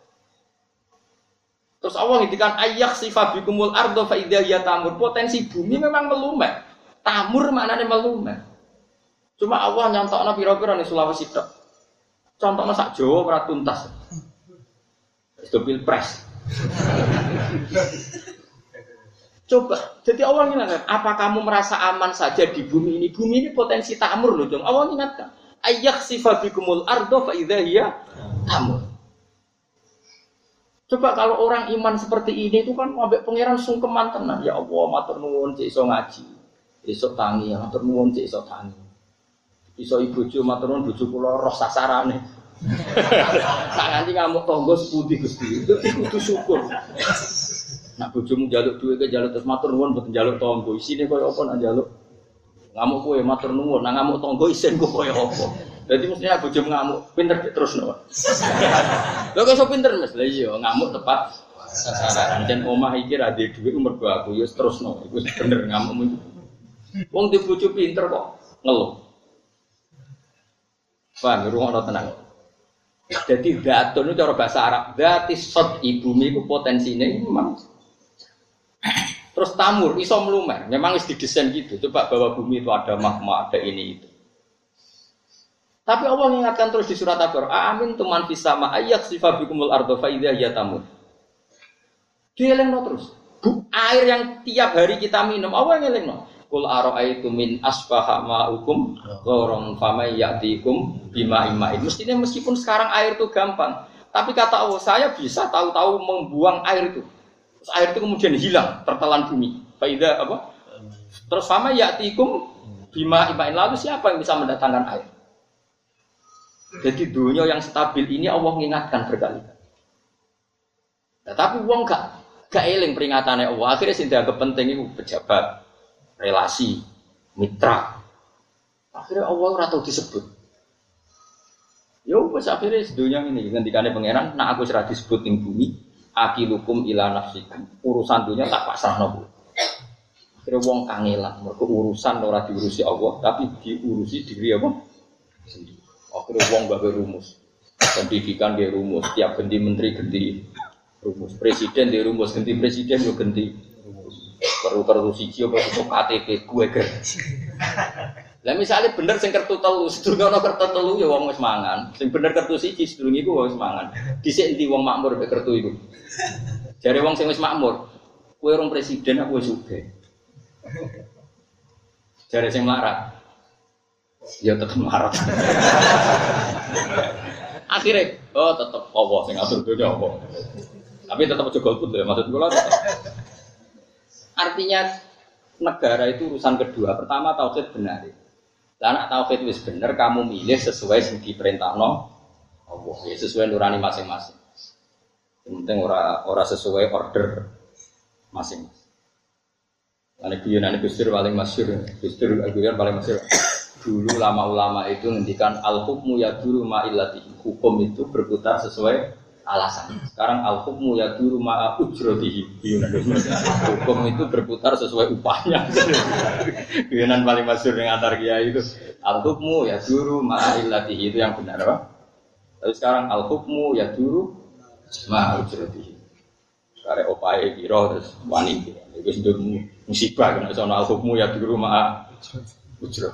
Terus Allah ngintikan ayakhsifa bikumul ardo fa idza hiya tamur. Potensi bumi memang melumet. Tamur maknanya melumet. Cuma Allah nyontokno pira-pira ning Sulawesi tok. Contohnya sak Jawa ora tuntas. Itu pilpres. Coba, jadi Allah ingatkan, apa kamu merasa aman saja di bumi ini? Bumi ini potensi tamur loh, dong. Allah ingatkan, ayakhsifa bikumul ardo fa idza hiya tamur. Coba kalau orang iman seperti ini itu kan ambek pangeran sungkeman tenan. Ya Allah, matur nuwun cek iso ngaji. Iso tangi, matur nuwun cek iso tangi. Iso ibojo matur nuwun bojo kula roh sasarane. Tak nganti ngamuk tangga sepundi Gusti. Itu kudu syukur. Nak bojomu njaluk duwe ke njaluk terus matur nuwun mboten njaluk tangga. Isine koyo apa nak njaluk? Ngamuk kowe matur nuwun, nak ngamuk tangga isin koyo apa? Jadi mestinya bojomu ngamuk pinter terus no. Lho kok iso pinter Mas? Lah iya ngamuk tepat sasaran. Jan omah iki ra duwe dhuwit mergo aku ya terusno. Iku bener ngamukmu itu. Wong di bojo pinter kok ngeluh. Paham rumono tenang. Jadi datun itu cara bahasa Arab, dzatis sad ibumi iku potensine memang. Terus tamur iso mlumer, memang wis didesain gitu. Coba bahwa bumi itu ada magma, ada ini itu. Tapi Allah mengingatkan terus di surat Al-Baqarah, amin tuman fis sama ayakhsifa bikumul ardo fa idza hiya tamur. Dielengno terus. Air yang tiap hari kita minum, Allah ngelengno. Qul ara'aytum min asbaha ma'ukum ghaurun famay ya'tikum bima imma'in. Mestinya meskipun sekarang air itu gampang, tapi kata Allah, saya bisa tahu-tahu membuang air itu. Terus air itu kemudian hilang, tertelan bumi. Fa idza apa? Terus famay ya'tikum bima imma'in. Lalu siapa yang bisa mendatangkan air? Jadi dunia yang stabil ini Allah mengingatkan berkali-kali. Nah, tapi wong gak eling peringatannya Allah. Akhirnya sing dianggap penting itu pejabat, relasi, mitra. Akhirnya Allah ora tau disebut. Ya wis akhirnya dunia ini ngendikane pangeran, nak aku ora disebut ning bumi, akilukum ila nafsikum. Urusan dunia tak pasrahno. Akhirnya wong kangelan, mergo urusan ora diurusi Allah, tapi diurusi diri apa? Sendiri. Akhirnya wong gawe rumus, pendidikan dia rumus, tiap ganti menteri ganti rumus, presiden dia rumus, ganti presiden yo ganti perlu siji apa itu KTP gue ger. Lah misalnya bener sing kertu telu, sedurunge ana kertu telu ya wong wis mangan, sing bener kertu siji sedurunge iku wis mangan. Dhisik endi wong makmur mek kertu iku. Jare wong sing wis makmur, kowe urung presiden aku wis sugih. Jare sing melarat ya tetap marah. Akhirnya, tetap Allah sing ngatur dunia Allah. Tapi tetap aja golput ya, maksud gue lah tetap. Artinya negara itu urusan kedua. Pertama tauhid benar. Lah nek tauhid wis bener, kamu milih sesuai sing diperintahno Allah, ya sesuai nurani masing-masing. Penting ora sesuai order masing-masing. Ane guyonan Gus Dur paling masyhur. Gus Dur guyon paling masyhur. Dulu ulama itu ngendikan al-hukmu yaduru ma illatihi. Hukum itu berputar sesuai alasan. Sekarang al-hukmu yaduru ma ujratihi. Hukum itu berputar sesuai upahnya. Guyonan paling masyhur yang antar kiai itu al-hukmu yaduru ma illatihi, itu yang benar, Pak. Tapi sekarang al-hukmu yaduru ma ujratihi. Kare opae piro terus wani iki. Iku sudah musibah kena soal hukum ya di rumah ujrah.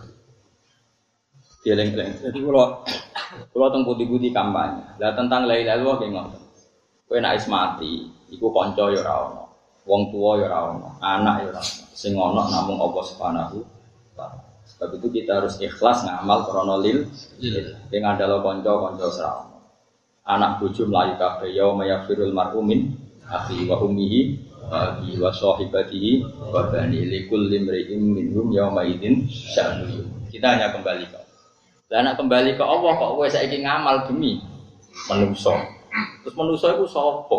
Geleng-geleng. Jadi kalau teng putih-putih kampanye. Lah tentang la ilaha illallah ki ngoten. Kowe nek wis mati, iku kanca ya ora ono. Wong tuwa ya ora ono, anak ya ora ono. Sing ono namung Allah Subhanahu wa taala. Sebab itu kita harus ikhlas ngamal krana lil. Sing andalo kanca-kanca ora ono. Anak bojo mlayu kabeh ya mayafirul mar'umin akhi wa ummihi wa sahibatihi wa bani likul limri'in minhum yawma idzin sya'nu. Kita hanya kembali ke Allah. Lah nek kembali ke Allah kok kowe saiki ngamal demi manusa. Terus manusa itu sapa?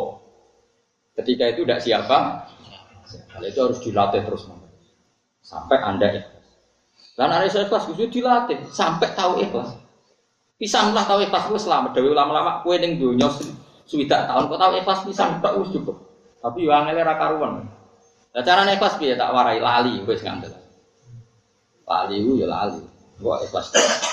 Ketika itu tidak siapa? Kalau itu harus dilatih terus sampai Anda ikhlas. Lah nek iso ikhlas kudu dilatih sampai tahu ikhlas. Pisanlah tahu ikhlas wis selamat. Dewe ulama-ulama kowe ning donya suwidak tahun kok tahu ikhlas pisan tak wis cukup. Tapi yo angel ra karuan. Lah carane ikhlas piye tak warai lali wis ngandel. Lali ku yo lali. Kok ikhlas.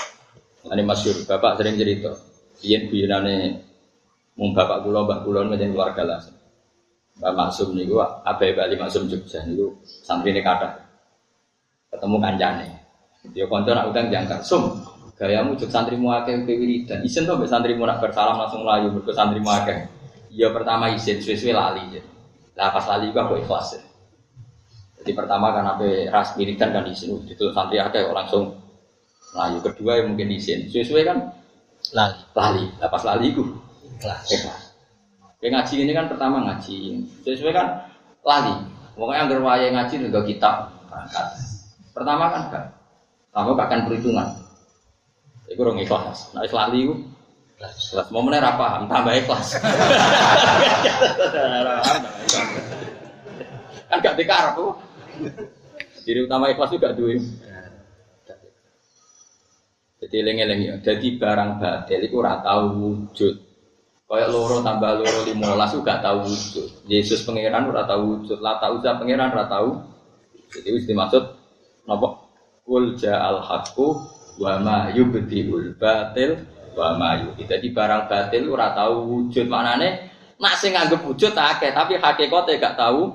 Ane masyhur bapak sering cerita. Biyen-biyenane mung bapak kula mbah kula ngene keluarga lah. Mbah Maksum niku abahe Bali Maksum Jogja niku santrine kathah. Ketemu kancane. Dia kanca nak utang jangkar. Sum, gayamu jog santrimu akeh wiridan. Isin to mbek santrimu nak bersalam langsung mlayu mergo santrimu akeh. Ya pertama isin suwe-suwe lali. Lah pas lali ku aku ikhlas. Jadi pertama kan ape ras wiridan kan isin itu santri akeh langsung mlayu. Kedua ya mungkin isin. Suwe-suwe kan lali. Lah pas lali ku ikhlas. Ngaji ini kan pertama ngaji. Suwe-suwe kan lali. Pokoknya anggar wayahe ngaji nggo kitab berangkat. Pertama kan gak. Kamu akan perhitungan. Iku rong ikhlas. Nek lali ku ikhlas. Momene ra paham, tambah ikhlas. Kan gak dikarep tuh. Jadi utama ikhlas juga duwe. Jadi eling-eling ya. Jadi barang batil iku ora tau wujud. Kayak loro tambah loro 15 gak tau wujud. Yesus pangeran ora tau wujud. La ta'uza pangeran ora tau. Jadi wis dimaksud napa? Qul ja'al haqqu wa ma yubdiul batil wa ma yu'id. Jadi barang batil ora tau wujud. Maknane nek sing nganggep wujud akeh tapi hakikate gak tahu.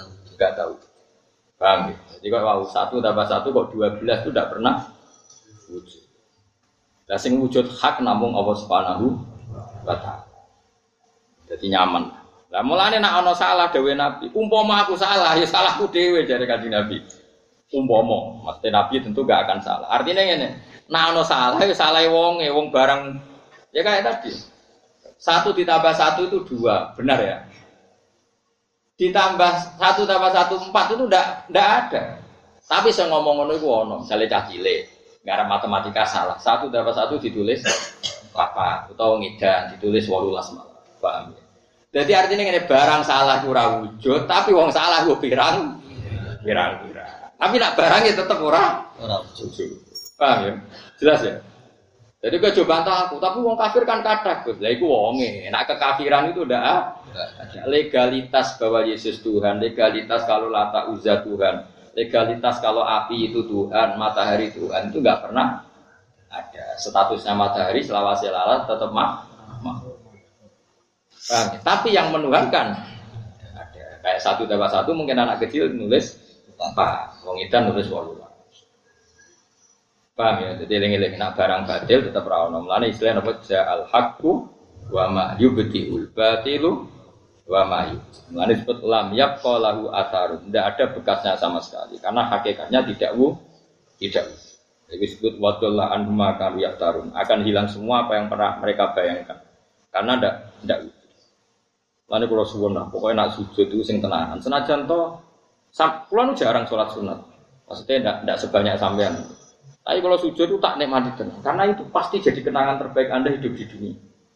Paham ya? Jadi kalau 1 tambah 1 kok 12 itu tidak pernah wujud. Lah sing wujud hak namung Allah Subhanahu wa taala. Jadi nyaman. Lah mulane nek ana salah dhewe Nabi, umpama aku salah ya salahku dhewe jare Kanjeng Nabi. Umpama, mesti Nabi tentu gak akan salah. Artinya ngene, nek ana salah ya salahe wonge, wong barang ya kayak tadi. 1 ditambah 1 itu 2, benar ya? Ditambah 1 tambah 1 4 itu ndak ada. Tapi saya ngomong ngono iku ono, misale cah cilik, ngarep matematika salah. 1 tambah 1 ditulis 4 utawa ngedan ditulis 18 malah. Paham ya? Jadi artinya ngene barang salah ora wujud, tapi wong salah ku pirang. Tapi nak barangnya tetap ora wujud. Paham ya? Jelas ya? Jadi kau coba bantah aku, tapi wong kafir kan kathah, Gus. Lah iku wonge, nek kekafiran itu ada legalitas bahwa Yesus Tuhan, legalitas kalau Lata Uzza Tuhan, legalitas kalau api itu Tuhan, matahari Tuhan itu enggak pernah ada. Statusnya matahari selawase lalat tetap makhluk. Paham ya? Tapi yang menuhankan ada. Kayak 1 tambah 1 mungkin anak kecil nulis 4, wong edan nulis 8. Paham ya? Jadi eling-eling nak barang batil tetap ra ono. Mulane istilah apa ja'al haqqu wa ma yubtiul batilu wa ma yubti. Mulane disebut lam yabqa lahu atharun. Tidak ada bekasnya sama sekali karena hakikatnya tidak tidak. Jadi disebut wadallahu anhum kanu yaftarun. Akan hilang semua apa yang pernah mereka bayangkan. Karena tidak. Mulane kula suwun lah, pokoke nak sujud itu sing tenanan. Senajan to kula nu jarang salat sunat. Maksudnya tidak sebanyak sampean. Tapi kalau sujud itu tak nikmati tenang, karena itu pasti jadi kenangan terbaik Anda hidup di dunia.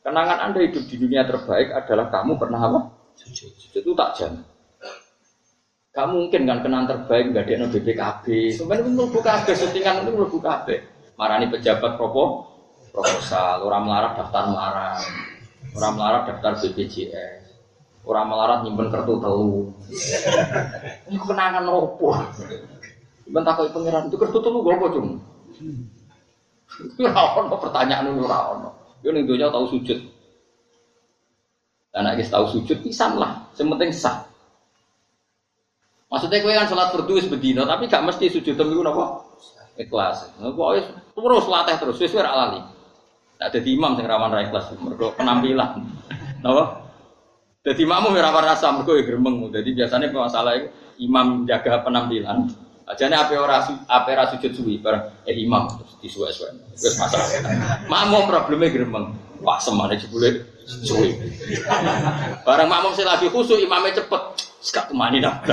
Kenangan Anda hidup di dunia terbaik adalah kamu pernah apa? Sujud. Itu tak jamin. Gak mungkin kan kenangan terbaik nggak ada BPKB. Sebenarnya itu BPKB, syutingan itu BPKB. Marani pejabat proposal, orang melarat daftar melarat, orang melarat daftar BPJS, orang melarat nyimpen kartu telu. Ini kenangan opo? Bentar kau pangeran itu kartu telu gue apa cung? Itu rawon pertanyaan itu rawon. Yo ning donya tahu sujud. Anak guys tahu sujud pisan lah, sementing sah. Maksudnya kowe kan salat fardu wis bedino, tapi gak mesti sujud niku napa? Ikhlas. Pokoke terus latih terus wis ora lali. Tak dadi imam sing rawan ra ikhlas mergo penampilan. Napa? Dadi makmum ora rasa mergo gremeng. Dadi biasanya masalah imam jaga penampilan. Ajane ape ora sujud suwi bareng imam terus disuwe-suwe. Wis masalah. Makmum probleme gremeng. Wah semane jebule suwi. Bareng makmum sing lagi khusuk imame cepet. Sekak kemani dah.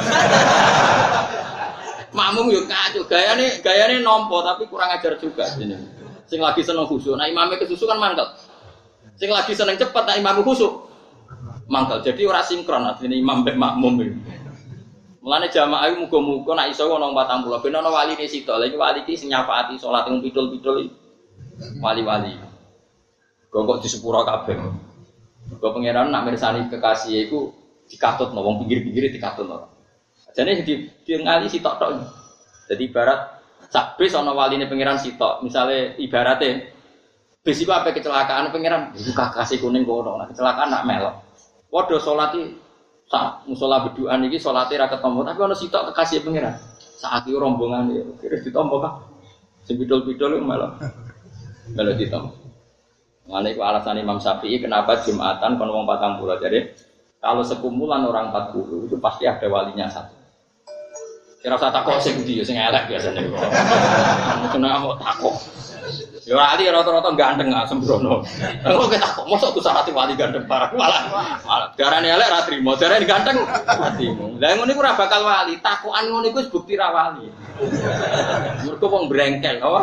Makmum yo kacau gayane nompo tapi kurang ajar juga ini. Sing lagi seneng khusuk, nah imame kesusu kan mangkel. Sing lagi seneng cepet, nah imam khusuk mangkel. Jadi ora sinkron artine imam mek makmum iki. Mulane jamaah iku muga-muga nek iso ana 40 ben ana waline sitok. Lha iki wali iki sing nyafaati salat ning pidul-pidul iki. Wali-wali. Kok di sepuro kabeh. Kok pangeran nak mirsani kekasih iku dikatutno wong pinggir-pinggire dikatutno. Jane di ngali sitok tok. Jadi ibarat sak bis ana waline pangeran sitok. Misale ibarate bis iku ape kecelakaan pangeran iku kakase kuning kono. Nah kecelakaan nak melok. Padha salat iki sak musala bedukan iki salate ra ketemu tapi ana sitok kekasih pangeran. Saiki rombongan iki kira ditompo kah? Sing pidul-pidul malah ditompo. Ngene iku alasan Imam Syafi'i kenapa Jumatan kon wong 40. Jadi kalau sekumpulan orang 40 itu pasti ada walinya satu. Kira usah takok sing ndi sing elek biasane kok. Kena kok takok. Ya wali rata-rata ganteng ah sembrono. Kok takok mosok ku sarati wali ganteng parah malah darane elek ra trimo, darane ganteng atimu. Lah ngono iku ora bakal wali, takokan ngono iku wis bukti ra wali. Mergo wong brengkel apa?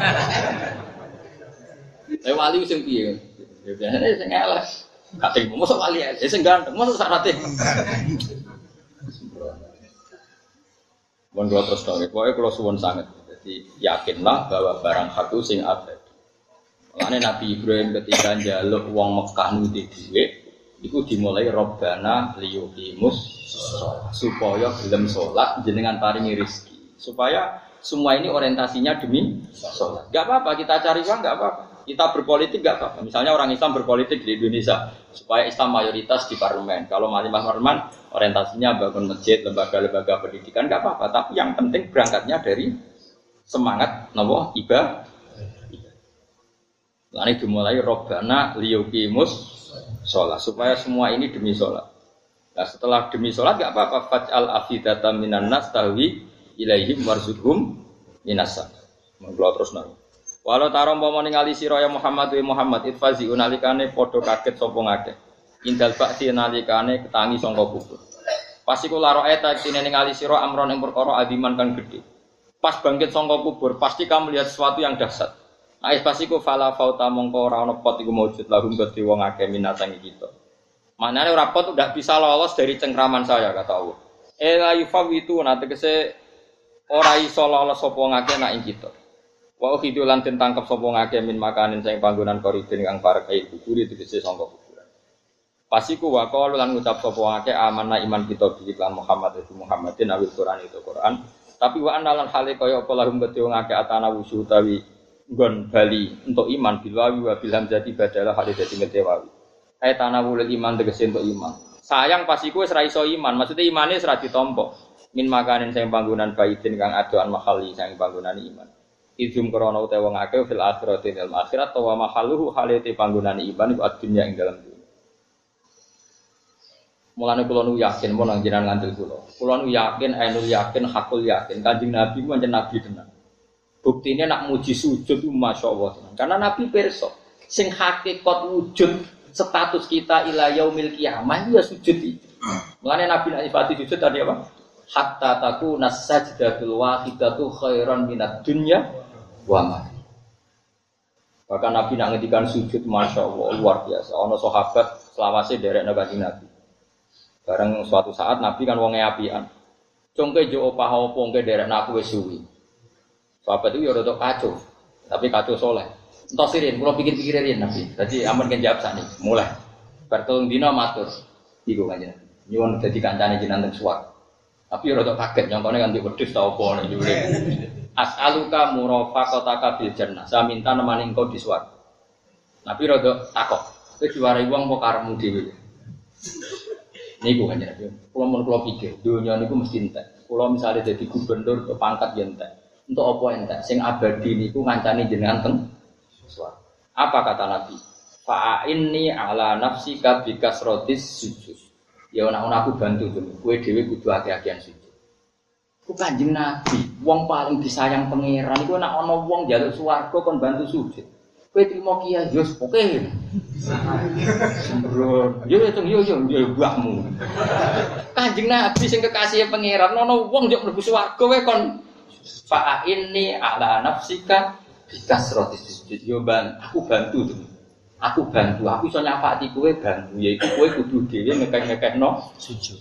Wali sing piye? Ya biasane sing elek. Kating mosok wali elek, sing ganteng mosok sarati. Mun kula terus tok, pokoke kula suwun sanget. Jadi yakinlah bahwa barang satu sing abadi. Mulane Nabi Ibrahim ketika njaluk wong Mekah nuti dhuwit, iku dimulai Rabbana liyuqimus supaya gelem salat jenengan paringi rezeki. Supaya semua ini orientasinya demi salat. Enggak apa-apa kita cari uang enggak apa-apa. Kita berpolitik enggak apa-apa. Misalnya orang Islam berpolitik di Indonesia supaya Islam mayoritas di parlemen. Kalau malimah parlemen orientasinya bangun masjid, lembaga-lembaga pendidikan enggak apa-apa. Tapi yang penting berangkatnya dari semangat napa ibadah. Lalu dimulai Robbana liyuqimus sholat supaya semua ini demi sholat. Nah setelah demi sholat enggak apa-apa faj'al afidatan minan nas tahwi ilaihim warzuqhum minasa. Monggo terus nang. Walau tarom pomo ningali sira ya Muhammad wa Muhammad itfazi unalikane padha kaget sapa ngakeh. Indal ba'ti nalikane ketangi sangka kubur. Pas iku laro eta tine ningali sira amron ing perkara adiman kang gedhe. Pas bangkit sangka kubur pasti kamu lihat sesuatu yang dahsyat. Nah, pas iku fala fauta mongko ora ana pot iku maujud lahum kedhi wong akeh minatangi kita. Manane ora pot udah bisa lolos dari cengkraman saya kata Allah. La yufawitu nate kese ora iso lolos sapa ngakeh nak ing kita. Wa ukhidu lan den tangkep sapa ngakeh min makanin sing panggonan koridin kang parek ae kubur tegese sangka kuburan. Pasiku wa qalu lan ngucap sapa ngakeh amanah iman kita bi lan Muhammad itu Muhammadin awil Quran itu Quran. Tapi wa analan hale kaya apa lahum kedhe ngakeh atana wusu utawi nggon bali untuk iman bilwawi wa bil hamzati badalah hale dadi ngedewawi. Ai tanawul iman tegese untuk iman. Sayang pasiku wis ra iso iman, maksudnya imane wis ra ditampa. Min makanin sing panggonan baidin kang adoan mahali sing panggonan iman. Idum krana utawa wong akeh fil akhirati fil akhirat wa mahalluhu halate panggonane iman iku adunya ing dalam dunya. Mulane kula nu yakin mun nang jenengan ngandel kula. Kula nu yakin ainul yakin hakul yakin Kanjeng Nabi ku pancen nabi tenan. Buktine nak muji sujud ku masyaallah tenan. Karena Nabi pirsa sing hakikat wujud status kita ila yaumil qiyamah ya sujud iki. Mulane Nabi nek nyifati sujud tadi apa? Hatta takuna sajdatul wahidatu khairan minad dunya wa ma. Bahkan Nabi nak ngendikan sujud Masya Allah luar biasa. Ono sahabat selawase derek Kanjeng Nabi. Bareng suatu saat Nabi kan wonge apian. Congke jo opah opo ngke derek aku wis suwi. Sahabat itu ya rada kacau. Tapi kacau soleh. Entos sirin, kula pikir-pikir riyen Nabi. Dadi amun kan jawab sakniki. Mulai. Bar telung dina matur. Iku Kanjeng Nabi. Nyuwun dadi kancane jenengan teng suwak. Tapi ya rada kaget nyongkone kan wedhus ta opo nek jure. As'aluka murafaqataka bil jannah. Saya minta nemani engkau di swarga. Nabi rada takok. Kowe diwarai wong apa karepmu dhewe? Niku kan ya. Kula pikir, dunya niku mesti entek. Kula misale dadi gubernur ke pangkat ya entek. Untuk apa entek? Sing abadi niku ngancani jenengan teng swarga. Apa kata Nabi? Fa'inni ala nafsika bikasratis sujud. Ya ana aku bantu to. Kowe dhewe kudu akeh-akehan sujud. Ku Kanjeng Nabi, wong paling disayang pangeran iku nek ana wong njaluk swarga kon bantu sujud. Kowe trimo kiai yo oke. Sembrono. Yo mbahmu. Kanjeng Nabi sing kekasih pangeran ana wong njuk mlebu swarga kowe kon fa inni ala nafsika bikasratis sujud. Yo aku bantu to. Aku iso nyafati kowe bantu yaiku kowe kudu dhewe ngekek-ngekekno sujud.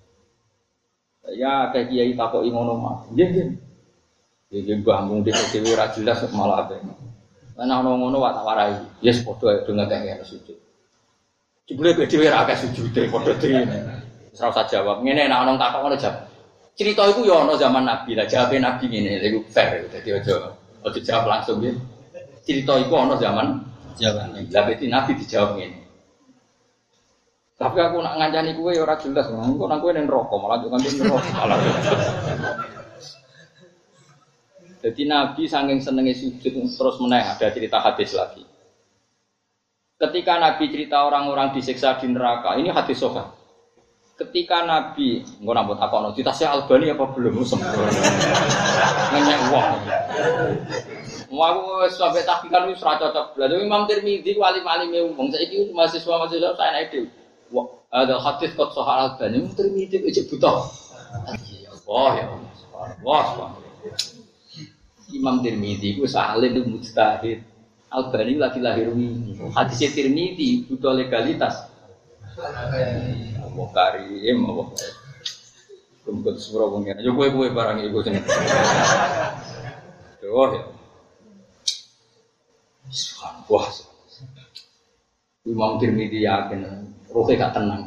Ya kayak kiai takoki ngono mah. Nggih. Nggih mbahmu dhewe ora jelas malah ape. Ana ngono wae tak warai. Yes padha do ngekek sujud. Jebule dhewe ora akeh sujude padha dhewe. Wis ora usah jawab. Ngene nek ana takok ngono jawab. Cerita iku ya ana zaman Nabi. Lah jawabe Nabi ngene, iku fair. Dadi aja jawab langsung nggih. Cerita iku ana zaman lah berarti Nabi dijawab ngene. Tapi aku nak ngancani kowe ya ora jelas, engko nang kowe ning neraka malah yo kanthi neraka malah. Jadi Nabi saking senenge sujud terus meneh ada cerita hadis lagi. Ketika Nabi cerita orang-orang disiksa di neraka, ini hadis sahih. Ketika Nabi, engko nambut takono, ditasih Albani apa belum sempurna. Ngenyek wong. Mau sampai tahqiqan wis ora cocok. Lha Imam Tirmidzi wali-walime wong saiki mahasiswa saya naik dhewe. Wah, ada hadis kok soal Albani Imam Tirmidzi aja buta. Ya Allah. Imam Tirmidzi ku saleh itu mujtahid. Albani lagi lahir ini. Hadis Tirmidzi buta legalitas. Allah karim Allah. Kumpul surah pengen. Yo kowe barang iku sing. Yo ya. Wah, Imam Tirmidzi yakin, rohnya gak tenang.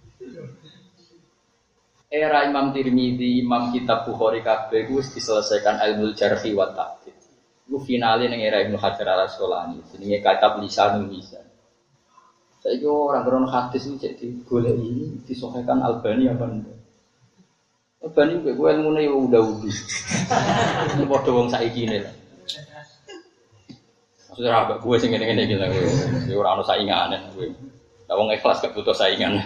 Era Imam Tirmidzi, Imam Kitab Bukhari kabeh wis diselesaikan ilmu jarhi wa ta'dil. Iku finale ning era Ibnu Hajar Al-Asqalani, jenenge kitab Lisanul Mizan. Saiki ora grono hadis iki cek digoleki disahihkan Albani apa ndak. Albani kowe ilmune yo udah-udah. Ini padha wong saiki ne. Sudah agak gue sing ngene-ngene iki lho. Ya ora ono saingane kowe. Lah wong ikhlas gak butuh saingan.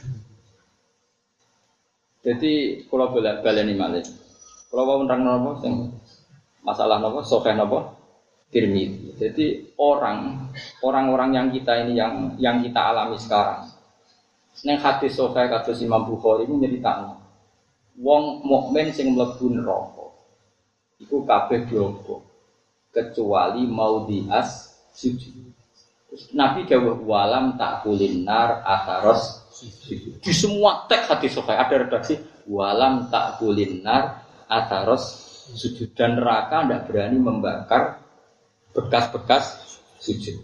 Jadi kula baleni malih. Kula wau nerang napa sing masalah napa sahih napa Tirmidzi. Jadi orang-orang yang kita ini yang kita alami sekarang. Ning hadis sahih kados Imam Bukhari iku nyeritakno. Wong mukmin sing mlebu neraka iku kabeh diobok. Kecuali mau dias sujud. Terus Nabi dawuh walam takulin nar atharos sujud. Di semua teks hadis sahih ada redaksi walam takulin nar atharos sujud dan neraka tidak berani membakar bekas-bekas sujud.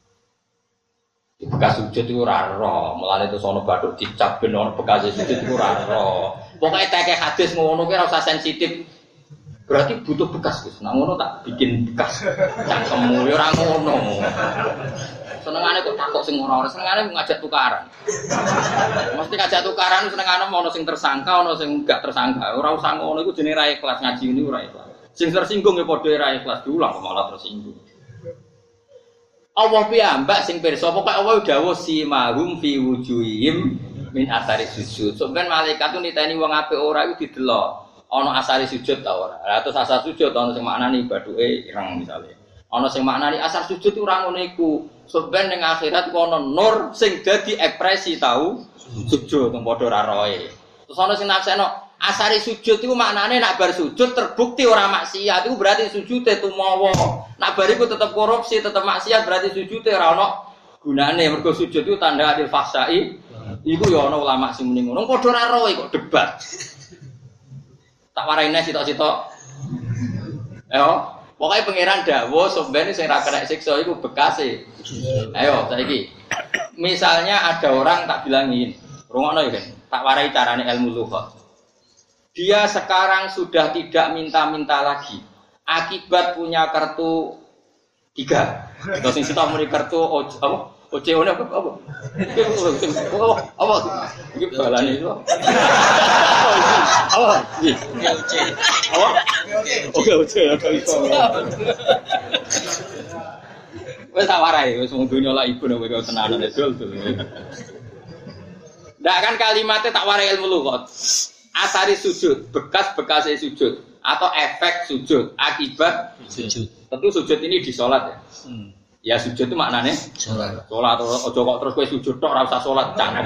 Bekas sujud itu ora ro, mulane itu sono bathuk dicap ben ono bekas sujud itu ora ro. Pokoke teke hadis ngono ki ora usah sensitif. Berarti butuh bekas, Gus. Nah ngono tak bikin bekas. Cangkemmu ya ora ngono. Senengane kok takok sing ora-ora, senengane ngajak tukaran. Mesti ngajak tukaran senengane ono sing tersangka, ono sing enggak tersangka. Ora usah ngono iku jenenge ra ikhlas ngaji ini ora ikhlas. Sing tersinggung ya padha ra ikhlas diulang kok malah tersinggung. Allah piyambak sing pirsa, pokoke Allah dawuh simahum fi wujuhihim min athari sujud. Sampeyan malaikat ku niteni wong apik ora iku didelok. Ana asari sujud ta ora. Lah terus asar sujud ana sing maknani bathuke ireng misale. Ana sing maknani asar sujud ora ngono iku. Sampeyan ning akhirat ku ana nur sing dadi ekspresi tau sujud teng padha ra roe. Terus ana sing nafseno Asari sujud itu maknane nak bar sujud terbukti ora maksiat itu berarti sujudnya tumawa. Nak bar iku tetep korupsi, tetep maksiat berarti sujudnya ora ono gunane. Mergo sujud itu tanda adil fahsai. Iku ya ana ulama sing muni ngono. Padha ora roe kok debat. Tak waraine sitok-sitok. Ayo, pokoke pangeran dawuh sombene sing ra kena siksa iku bekase. Ayo saiki. Misalnya ada orang tak bilangin, rungokno ya kan. Tak warai carane ilmu lughat. Dia sekarang sudah tidak minta-minta lagi. Akibat punya kartu 3. Terus sing sitok muni kartu apa? OCO apa? Apa? Iki balane itu. Apa? OC. Apa? Oke, OC ya iso. Wes tak warai, wis wong donya lak ibu nek kok tenanan dol. Ndak kan kalimatnya tak warai ilmu lughat. Asari sujud, bekas-bekasnya sujud atau efek sujud, akibat sujud. Tentu sujud ini di sholat ya. Ya sujud itu maknanya sholat. Sholat ojo kok terus kowe sujud tok ora usah sholat cangkem.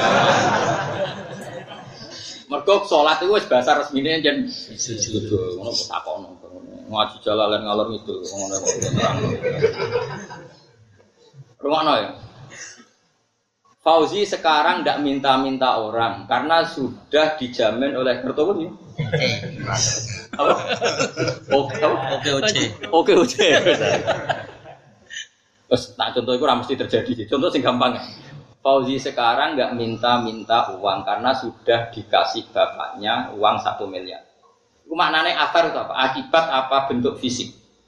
Mergo sholat itu wis bahasa resmine jen sujud. Ngono kok takono. Ngaji jalalan ngalor ngidul ngono kok terang. Rumakno ya. Fauzi sekarang tidak minta-minta orang karena sudah dijamin oleh Kertowo nih. Oke. Terus tak contoh itu mesti terjadi. Contoh sing gampang. Fauzi sekarang nggak minta-minta uang karena sudah dikasih bapaknya uang 1 miliar. Itu maknanya athar itu apa? Akibat apa bentuk fisik?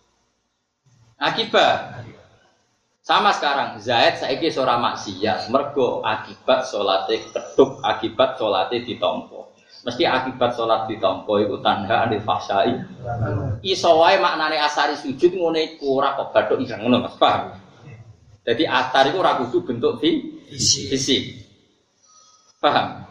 Akibat. Sama sekarang, Zaid saiki ora maksiat, mergo akibat salate keduk, akibat salate ditampa. Mesti akibat salat ditampa iku tanda anil fahsai. Iso wae maknane asari sujud ngene iku ora kok bathuk ireng ngono Mas, paham? Jadi atar iku ora kudu bentuk fisik. Paham?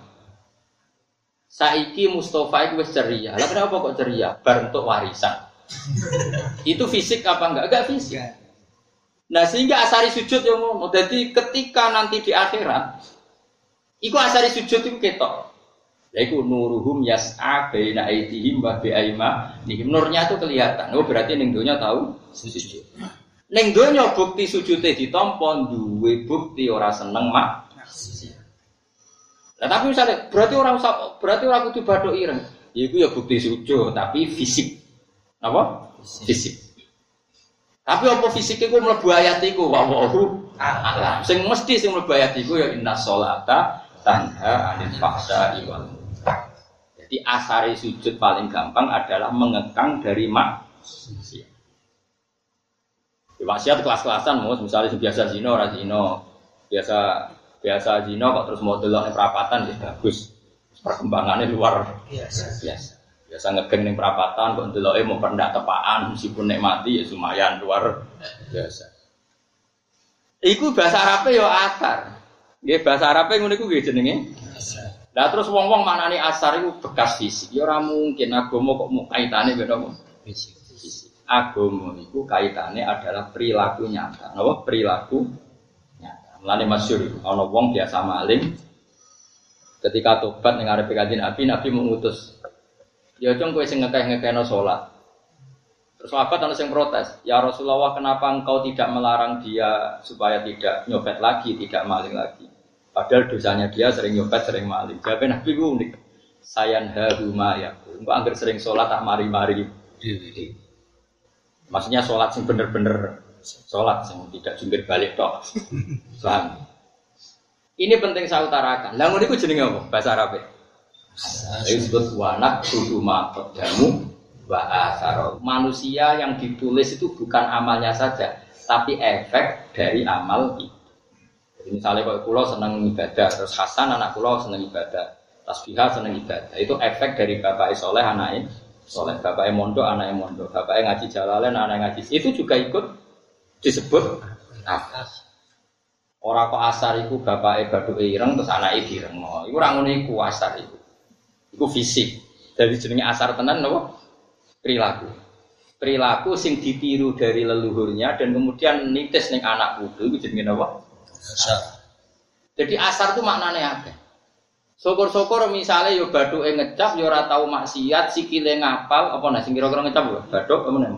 Saiki Mustofa iku wis ceria. Lah kenapa kok ceria? Bar entuk warisan. Itu fisik apa enggak? Enggak fisik. Nah sehingga asari sujud yang ngono. Jadi ketika nanti di akhirat, iku asari sujud itu ketok. Yaiku nuruhum yas'a baina aydihim wa bi aymanihim. Nurnya itu kelihatan. Oh berarti ning donya tahu sujud. Ning donya bukti sujude ditampa duwe bukti ora seneng mak. Nah tapi misalnya berarti ora kudu bathuk ireng. Iku ya bukti sujud tapi fisik. Apa? Fisik. Tapi apa fisik iku mlebu ayat iku wawahu a'lam. Sing mesti sing mlebu ayat iku ya innas sholata tanha 'anil fahsya'i wal munkar. Jadi asari sujud paling gampang adalah mengekang dari maksiat. Maksiat kelas-kelasan misalnya biasa zina ora zina. Biasa zina kok terus mau delok ning perapatan wis bagus. Perkembangannya luar biasa. Biasa ngegeng ning perapatan kok ndeloke mau pendak tepaan meskipun nek mati ya lumayan luar biasa. Iku bahasa Arabe ya asar. Nggih bahasa Arabe ngono iku nggih jenenge asar. Lah terus wong-wong maknane asar iku bekas fisik. Ya ora mungkin agama kok mau kaitane mbek napa? Fisik. Agama iku kaitane adalah perilaku nyata. Napa? Perilaku nyata. Mulane masyhur ana wong biasa maling ketika tobat ning arepe Kanjeng Nabi mengutus ya cung kowe sing ngekeh-ngekehno salat. Terus sahabat ana sing protes, "Ya Rasulullah, kenapa engkau tidak melarang dia supaya tidak nyopet lagi, tidak maling lagi? Padahal dosanya dia sering nyopet, sering maling." Jawab Nabi ku unik. Sayanhahu ma yaqul. Engko anggere sering salat tak mari-mari. Maksudnya salat sing bener-bener salat sing tidak jungkir balik tok. Paham? Ini penting saya utarakan. Lah ngono iku jenenge apa? Bahasa Arab. Disebut wanak kudu maqaddamu wa asar. Manusia yang ditulis itu bukan amalnya saja, tapi efek dari amal itu. Jadi misalnya kalau kula seneng ibadah, terus Hasan anak kula seneng ibadah, Tasbihah seneng ibadah. Itu efek dari bapake saleh anake saleh, bapake mondok anake mondok, bapake ngaji jalalain anake ngaji. Itu juga ikut disebut asar. Ora kok asar iku bapake baduke ireng terus anake direngno. Iku ora ngono iku asar iku. Iku fisik. Jadi jenenge asar tenan napa? Perilaku. Perilaku sing ditiru dari leluhurnya dan kemudian nitis ning anak putu iku jenenge napa? Asar. Jadi asar itu maknane akeh. Syukur-syukur misalnya yo bathuke ngecap yo ora tau maksiat, sikile ngapal apa nah sing kira-kira ngecap yo bathuk apa meneh.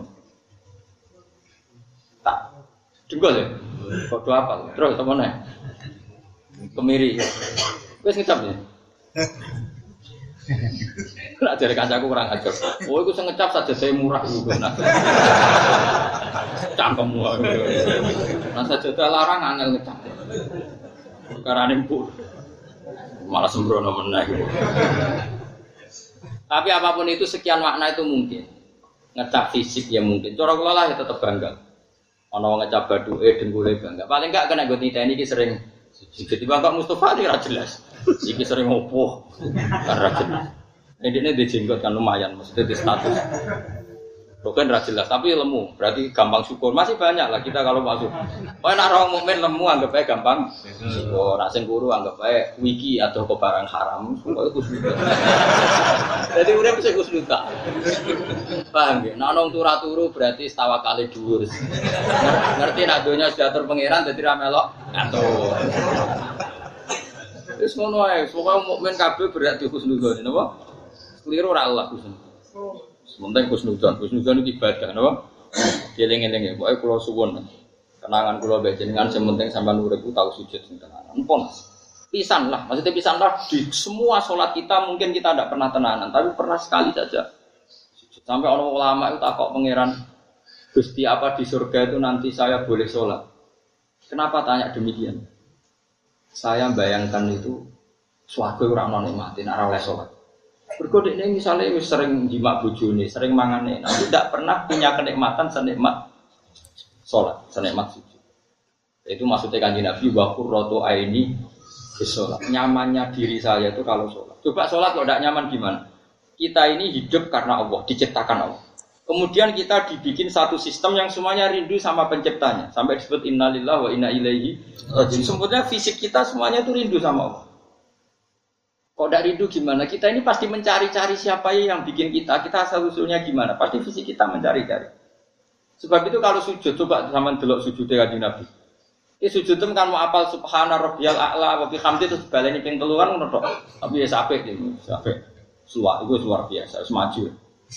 Tak. Dengkul ya. Padha apal. Terus apa meneh? Kemiri. Wis ngecap ya. Lah jare kancaku kurang ajar. Oh iku sing ngecap sajadah murah iku. Cangkemmu. Nah sajadah larang angel ngecap. Perkarane empuk. Malah sembrono meneh. Tapi apapun itu sekian makna itu mungkin. Ngecap fisik ya mungkin. Cara kula lah ya tetep bangga. Ana wong ngecap bathuke dengkule bangga. Paling enggak kena nggo niteni iki sering sujud. Tiba Pak Mustofa iki ra jelas. Iki sering opo. Kan ra jelas. Ini di jenggot kan lumayan maksudnya di status. Bukan ra jelas tapi lemu. Berarti gampang syukur. Masih banyak lah kita kalau masuk. Oh nek orang mukmin lemu anggap ae gampang. Syukur. Nek sing guru anggap ae wiki atau ke barang haram. Pokoke kusnuda. Jadi urip sing kusnuda. Paham nggih? Nek nang turu berarti tawakale dhuwur. Ngerti nek donya sudah atur pangeran dadi ra melok ngatur. Wis ngono ae, pokoke mukmin kabeh berarti kusnuda napa? Keliru ora Allah kusnuda. Sementing kusnudan iki ibadah napa? Dieling-eling ya, pokoke kula suwun. Kenangan kula mbek jenengan sementing sampean urip ku tau sujud sing tenanan. Empun. Pisan lah, maksudnya pisan lah di semua salat kita mungkin kita tidak pernah tenanan, tapi pernah sekali saja. Sampai orang ulama itu takok pangeran, Gusti apa di surga itu nanti saya boleh sholat? Kenapa tanya demikian? Saya bayangkan itu swarga ora ono nikmate nek ora oleh sholat. Mergo dekne misale wis sering jimak bojone, sering mangane, tapi tidak pernah punya kenikmatan senikmat sholat, senikmat sujud. Itu maksudnya Kanjeng Nabi wa qurratu aini sholat. Nyamannya diri saya itu kalau sholat. Coba sholat kalau tidak nyaman gimana? Kita ini hidup karena Allah, diciptakan Allah. Kemudian kita dibikin satu sistem yang semuanya rindu sama penciptanya. Sampai disebut innalillahi wa inna ilaihi raji'un. Sebetulnya fisik kita semuanya itu rindu sama Allah. Kok tidak rindu gimana? Kita ini pasti mencari-cari siapa yang bikin kita. Kita asal-usulnya gimana? Pasti fisik kita mencari-cari. Sebab itu kalau sujud, coba sama delok sujudnya Kanjeng Nabi. Ini sujud itu kan mau apal subhana rabbiyal a'la wa bihamdi terus baleni ping telu kan ngono tok. Tapi ya sampai iki, sampai suwak itu luar biasa, semaju.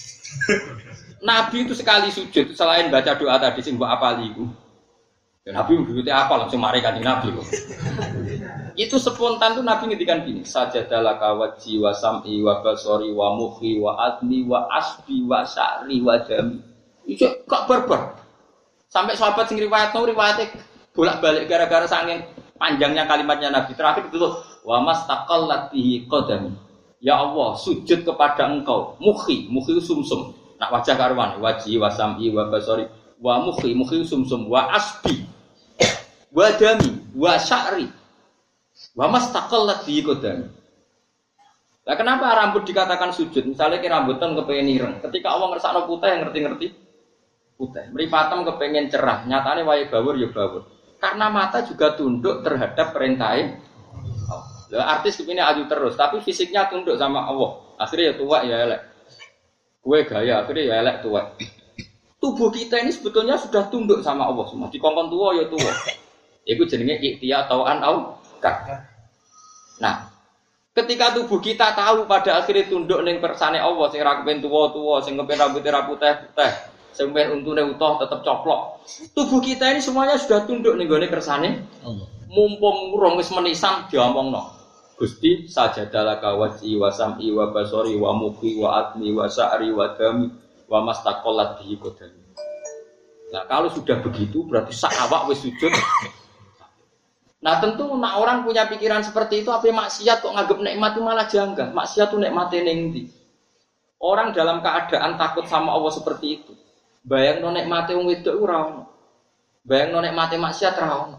Nabi itu sekali sujud selain baca doa tadi sing mbok apali iku. Ya Nabi mujudnya apal langsung mari Kanjeng Nabi kok. Itu spontan tuh Nabi ngendikan gini, sajadalaka wajhi wa sam'i wa basari wa mukhi wa adni wa asbi wa sya'ri wa dami. Itu kok barbar. Sampai sahabat sing riwayate bolak-balik gara-gara saking panjangnya kalimatnya Nabi. Terakhir itu wa mastaqallat bihi qadami. Ya Allah, sujud kepada Engkau. Mukhi sumsum. Nak wajah karuan, wajhi wa sam'i wa basari wa mukhi sumsum wa asbi wa dami wa sya'ri. Wa mastaqallat bihi qadami. Lah kenapa rambut dikatakan sujud? Misalnya ki rambutan kepengen ireng. Ketika Allah ngersakno putih ngerti-ngerti putih. Mripatem kepengen cerah, nyatane wae bawur ya bawur. Karena mata juga tunduk terhadap perintahnya. Lah artis kepine aju terus, tapi fisiknya tunduk sama Allah. Akhirnya ya tua ya elek. Kue gaya akhirnya ya elek tua. Tubuh kita ini sebetulnya sudah tunduk sama Allah semua. Dikongkon tua ya tua. Iku jenenge ikhtiar tauan au. Nah, ketika tubuh kita tahu pada akhirnya tunduk ning persane Allah sing ra kepen tuwa-tuwa, sing kepen rambutnya ra putih-putih, sing kepen untune utuh tetep coplok. Tubuh kita ini semuanya sudah tunduk ning gone kersane Allah. Mumpung urung wis menisan diomongno. Gusti sajadalaka wajhi wa sam'i wa basari wa mukhi wa adni wa sya'ri wa dami wa mastaqallat bihi qadami. Nah, kalau sudah begitu berarti sak awak wis sujud. Nah tentu nak orang punya pikiran seperti itu, apa maksiat kok nganggep nikmat itu malah janggal. Maksiat itu nikmate ning ndi? Orang dalam keadaan takut sama Allah seperti itu. Bayangno nikmate wong wedok ora ono. Bayangno nikmate maksiat ora ono.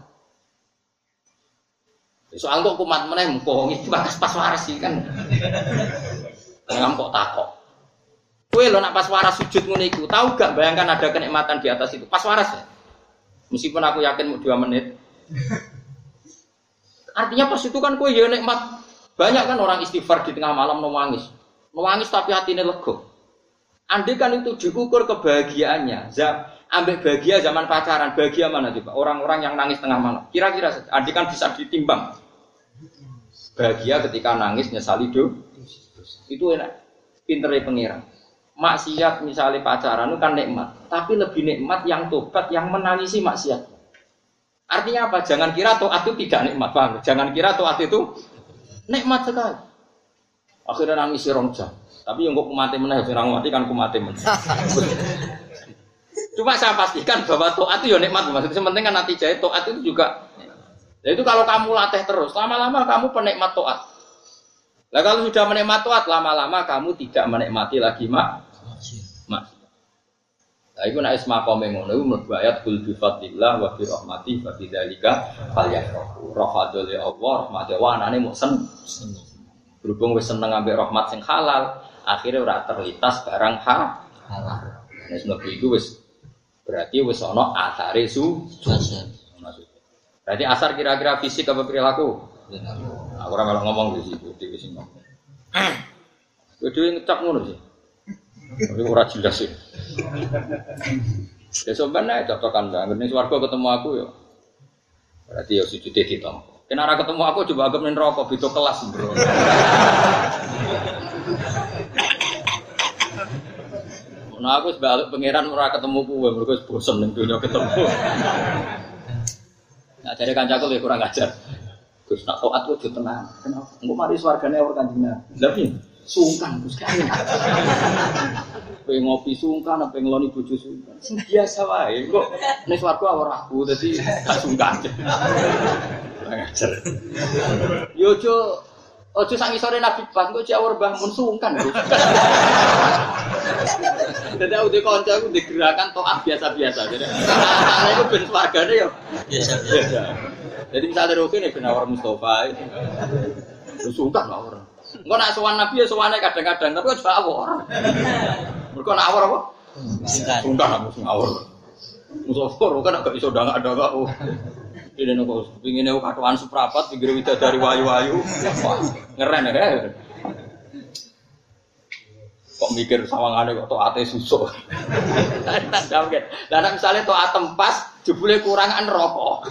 Soal kok kumat meneh mumpung iki pas waras iki kan. Ngam kok takok. Kowe lho nak pas waras sujud ngene iku, tahu gak bayangkan ada kenikmatan di atas itu? Pas waras ya. Meskipun aku yakin mau 2 menit. Artinya pas itu kan kowe ya nikmat. Banyak kan orang istighfar di tengah malam nangis. Nangis tapi hatine lega. Andai kan itu diukur kebahagiaannya. Ambek bahagia zaman pacaran, bahagia mana coba? Orang-orang yang nangis tengah malam. Kira-kira andai kan bisa ditimbang. Bahagia ketika nangis nyesali itu enak. Pintere pengiran. Maksiat misalnya pacaran itu kan nikmat, tapi lebih nikmat yang tobat yang menangisi maksiat. Artinya apa? Jangan kira taat itu tidak nikmat, paham? Jangan kira taat itu nikmat sekali. Akhirnya nangis rong jam. Tapi yang kok kumate meneh, orang mati kan kumate meneh. Cuma saya pastikan bahwa taat itu ya nikmat. Maksudnya penting kan nanti jahit taat itu juga. Nah itu kalau kamu latih terus, lama-lama kamu penikmat taat. Lah kalau sudah menikmati taat, lama-lama kamu tidak menikmati lagi maksiat. Lah iku nek isma qome ngono iku mlebu ayat kul bi fadlillah wa bi rahmati fa bidzalika falyafrahu. Rahmatul Allah, rahmate wa anane mok berhubung wis seneng ambek rahmat sing halal, akhirnya ora terlintas barang halal. Nek mlebu iku wis berarti wis ana asare berarti asar kira-kira fisik apa perilaku? Aku ora malah ngomong di situ, di sini ngomong. Kudu ngecap ngono sih. Tapi ora jelas sih. Ya sebenarnya cocokan banget ning swarga ketemu aku ya. Berarti ya sujude ditampa. Yen ora ketemu aku coba anggap ning neraka beda kelas, Bro. Nah aku sebalik pangeran ora ketemu kowe, mergo bosen ning donya ketemu. Nah dari kancaku lebih kurang ajar. Terus nak taat kudu tenang. Kenapa? Engko mari swargane ora kanjeng. Lha piye? Sungkan Gus kan. Pengen ngopi sungkan, pengen ngeloni bojo sungkan. Sing biasa wae. Engko ning swarga ora aku dadi gak sungkan. Ngajar. Yo ojo sak ngisore Nabi Ban kok jawur Mbah Mun sungkan. Dadi aku dikonco aku digerakan taat biasa-biasa. Jadi ana iku ben swargane yo biasa-biasa. Jadi misalnya Rokin ya benar Mustafa itu sungkan lah orang. Enggak nak sowan Nabi ya sowannya kadang-kadang tapi juga awor. Mereka nak awor apa? Sungkan aku awor. Mustafa Rokin agak iso dangak-dangak. Ini nunggu pingin aku katuan seprapat pinggir widadari wayu-wayu. Ngeren ya. Kok mikir sawangane kok taate susuk. Lah nek misale taat tempas jebule kurangan rokok.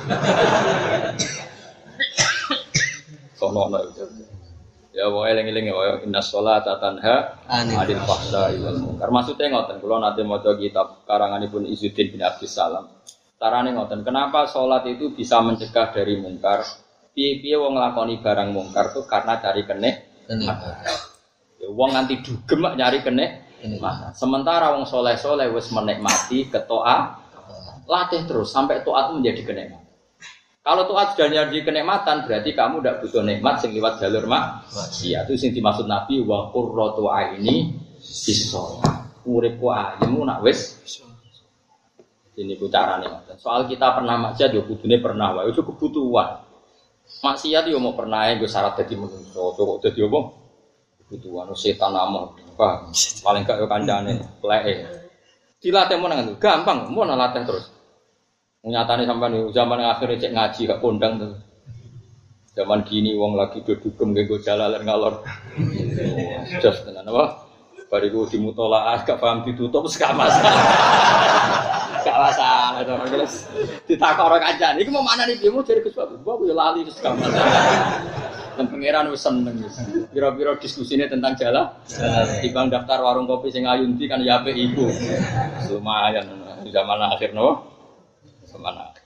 Sono itu. Ya wae eling-eling ya innas sholata tanha 'anil fahsya'i wal munkar. Maksude ngoten kula nate maca kitab karanganipun Izzuddin bin Abdus Salam. Carane ngoten, kenapa salat itu bisa mencegah dari mungkar? Piye-piye wong nglakoni barang mungkar tuh karena cari kenik. Ya wong nganti dugem nyari kenik. Sementara wong soleh-soleh wis menikmati ketaat, latih terus sampai taat menjadi kenikmatan. Kalau taat sudah jadi kenikmatan berarti kamu tidak butuh nikmat sing liwat jalur maksiat. Itu sing dimaksud Nabi wa qurratu aini bis-shalah. Uripku ayemu nak wis ini ku carane ngoten. Soal kita pernah maksiat yo kudune pernah wae itu kebutuhan. Maksiat yo mau pernah nggo syarat dadi manungsa. Kok dadi apa? Kebutuhan setan amon. Paling gak yo kancane pleke. Dilatih menang itu gampang, mau latih terus. Nyatane sampean zaman akhir cek ngaji gak kondang terus. Zaman gini wong lagi dudugem nggo jalalan ngalor. Jos tenan apa? Bariku dimutolaah gak paham ditutup gak masalah. Gak masalah to. Ditakok kancane iki mau manani piye mu jare Gus Bapak yo lali wis gak masalah. Dan pangeran wis seneng wis. Pira-pira diskusine tentang jalan. Dibang daftar warung kopi sing ayunti kan ya apik iku. Lumayan zaman akhir no. Zaman akhir.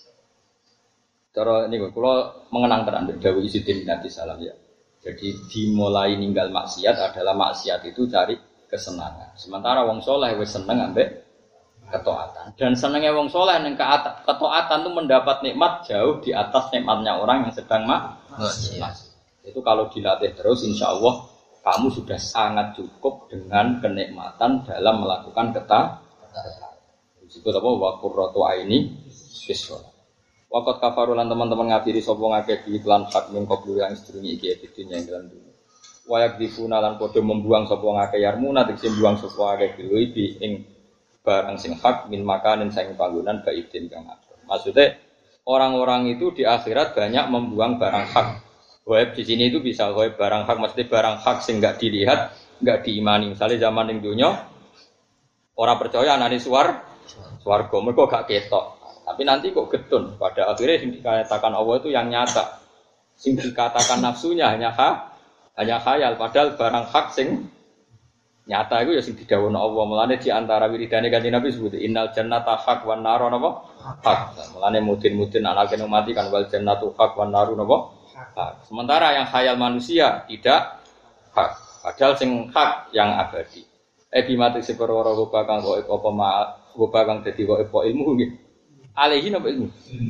Cara niku kula mengenang tenan dawuh Izzuddin bin Abdus Salam ya. Jadi dimulai ninggal maksiat adalah maksiat itu cari kesenangan. Sementara wong soleh wis seneng ambek ketaatan. Dan senengnya wong soleh ning ketaatan itu mendapat nikmat jauh di atas nikmatnya orang yang sedang maksiat. Itu kalau dilatih terus insya Allah kamu sudah sangat cukup dengan kenikmatan dalam melakukan ketaatan. Disebut apa? Wa qurratu aini bis-shalah. Waqat kafarulan teman-teman ngafiri sapa ngakeh iklan hak min qablu yang sedurunge iki dunya ing dalam dunya. Wa yakdifuna lan padha membuang sapa ngakeh yarmuna tegese buang sapa ngakeh biluwi ing barang sing hak min makanin sing panggonan baidin kang atur. Maksudnya orang-orang itu di akhirat banyak membuang barang hak. Gaib di sini itu bisa gaib barang hak, mesti barang hak sing enggak dilihat, enggak diimani. Misalnya zaman ning dunya orang percaya anane swarga mergo gak ketok. Tapi nanti kok getun. Pada akhirnya yang dikatakan Allah itu yang nyata. Sing dikatakan nafsunya hanya khayal, padahal barang hak sing nyata itu ya sing didhawuhna Allah. Mulane di antara wiridane Kanjeng Nabi sebut innal jannata haq wan nar napa? Haq. Mulane mudin anake mati kan wal jannatu haq wan naru napa? Haq. Sementara yang khayal manusia tidak hak. Padahal sing hak yang abadi. Bimati seperwara rupa kang kok apa rupa kang dadi kok apa ilmu nggih. Alaihi napa ilmu?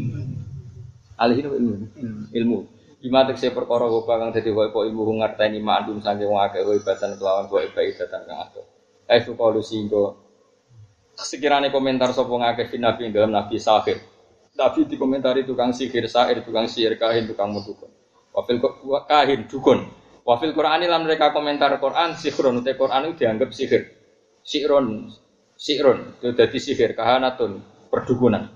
Alaihi napa ilmu? Ilmu. Bimati seperkara rupa kang dadi kok apa ilmu ngerteni mandum sange wong akeh ibatan kelawan kok ibatan kang akeh. Sukalu singgo sekirane komentar sapa ngakeh nabi dalam nabi sahir. Nabi dikomentari tukang sihir, sair, tukang sihir, kahin, tukang mudukun. Wafil kahin, dukun. Wafil Qur'ani lan mereka komentar Qur'an sihrun, te Qur'an itu dianggap sihir. Sihrun, itu jadi sihir, kahanatun, perdukunan.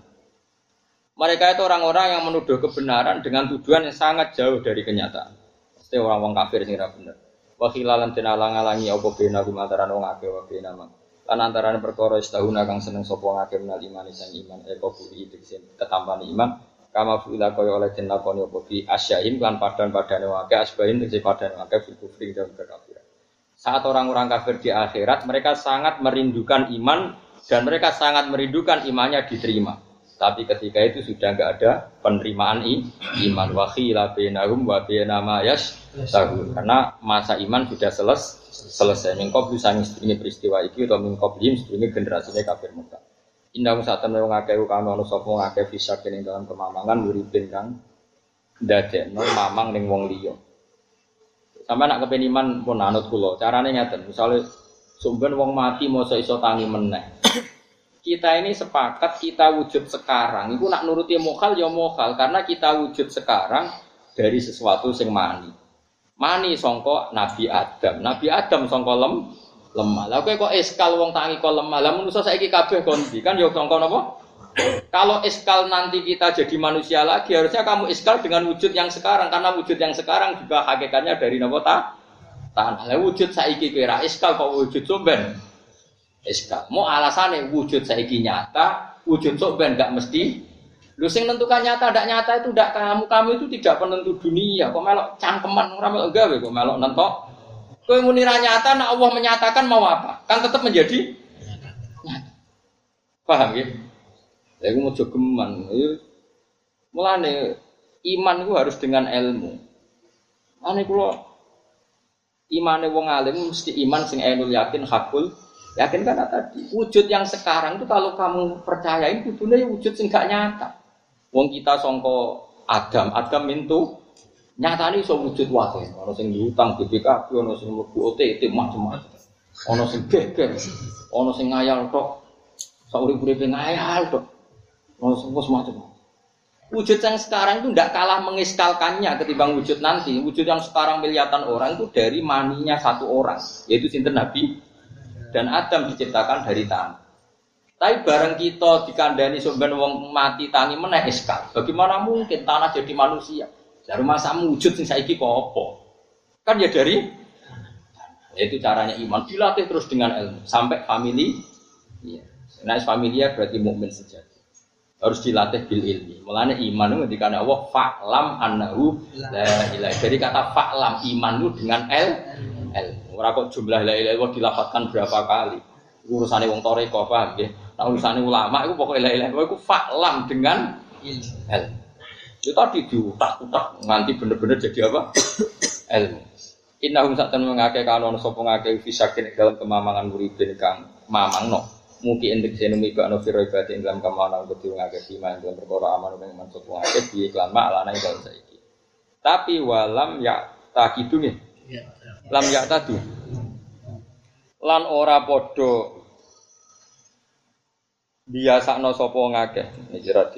Mereka itu orang-orang yang menuduh kebenaran dengan tujuan yang sangat jauh dari kenyataan. Pasti orang-orang kafir sing ora bener. Wa khilalan den alang-alangi apa bena gumantaran wong akeh wa bena mang. Lan antarané perkara istahuna kang seneng sapa ngakeh menal iman sang iman budi diksin ketampane iman kama fuila kaya oleh den lakoni apa bi asyain lan padan-padane wake asbahin tegese padan wake fil kufri dan kekafiran. Saat orang-orang kafir di akhirat mereka sangat merindukan iman dan mereka sangat merindukan imannya diterima. Tapi ketika itu sudah enggak ada penerimaan iman wa khila bainahum wa bainama yashtahun karena masa iman sudah selesai. Mingkob bisa ini peristiwa iki atau mingkob him ini generasinya kafir Mekah. Indah saat temen ngakeh kano ono sapa ngakeh bisa kene dalam kemamangan uripin kang ndadekno mamang ning wong liya. Sampe nak kepen iman pun anut kula. Carane ngeten, misale sumben wong mati mosok iso tangi meneh. Kita ini sepakat kita wujud sekarang. Iku nak nuruti mokhal ya mokhal karena kita wujud sekarang dari sesuatu sing mani. Mani sangka Nabi Adam. Nabi Adam sangka lemah. Lah kok eskal wong tangi kok lemah. Lah manusa saiki kabeh kondi kan ya sangka napa? Kalau eskal nanti kita jadi manusia lagi harusnya kamu eskal dengan wujud yang sekarang karena wujud yang sekarang juga hakikatnya dari napa tanah. Lah wujud saiki kira eskal kok wujud somben. Eskal. Mau alasane wujud saiki nyata, wujud somben enggak mesti. Lu sing nentukan nyata ndak nyata itu ndak kamu itu tidak penentu dunia. Kok melok cangkeman ora melok gawe kok melok nentok. Kowe muni ra nyata nek Allah menyatakan mau apa? Kan tetap menjadi nyata. Paham ya? Lha iku mojo geman. Mulane iman itu harus dengan ilmu. Ane kula imane wong alim mesti iman sing ainul yakin hakul. Yakin kan tadi. Wujud yang sekarang itu kalau kamu percayain kudune wujud sing gak nyata. Wong kita sangka Adam itu nyatane iso wujud wae. Ana sing diutang BPKB, ana sing mlebu OTT macam-macam. Ana sing geger, ana sing ngayal tok. Sak urip-uripe ngayal tok. Ana sing macam-macam. Wujud yang sekarang itu tidak kalah mengiskalkannya ketimbang wujud nanti. Wujud yang sekarang miliatan orang itu dari maninya satu orang, yaitu sinten Nabi dan Adam diciptakan dari tanah. Tapi bareng kita dikandani sampeyan wong mati tangi meneh iskal. Bagaimana mungkin tanah jadi manusia? Dari masa wujud sing saiki kok apa? Kan ya dari itu caranya iman dilatih terus dengan ilmu sampai famili. Iya. Nah, familia berarti mukmin sejati. Harus dilatih bil ilmi. Mulane iman itu ngendikane Allah fa'lam annahu la ilaha. Jadi kata fa'lam iman itu dengan ilmu. Ora kok jumlah la ilaha illallah dilafadzkan berapa kali. Urusane wong toreko paham nggih. Nah urusane ulama iku pokoke la ilaha illallah iku fa'lam dengan ilmu. Itu tadi diutak-utak nganti bener-bener jadi apa? Ilmu. Innahum sa'tan mengake kanon sapa ngake fisakin dalam kemamangan muridin kang mamangno. Mungkin entek senumi bakno firo ibadah ing dalam kemamangan kudu ngake iman dalam perkara aman ing maksud ngake bi iklan mak lanang dalam saiki. Tapi walam ya takidu nggih. Lam ya tadu. Lan ora padha biasakno sapa ngake. Ngira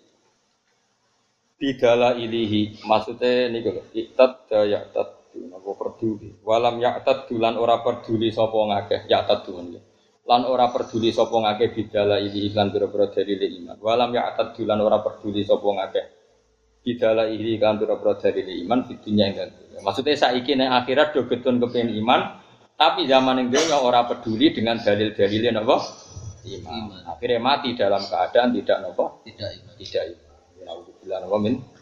di dala ilihi maksudnya niku lho iktad ya tadu napa peduli walam ya tadu lan ora peduli sapa ngakeh ya tadu lan ora peduli sapa ngakeh bidala ilihi lan pira-pira dalile iman walam ya tadu lan ora peduli sapa ngakeh bidala ilihi lan pira-pira dalile iman fidunya enggak maksudnya saiki nek akhirat do getun kepengin iman tapi zaman ning donya ora peduli dengan dalil-dalile napa iman akhirnya mati dalam keadaan tidak napa tidak iman. Alhamdulillah, amin.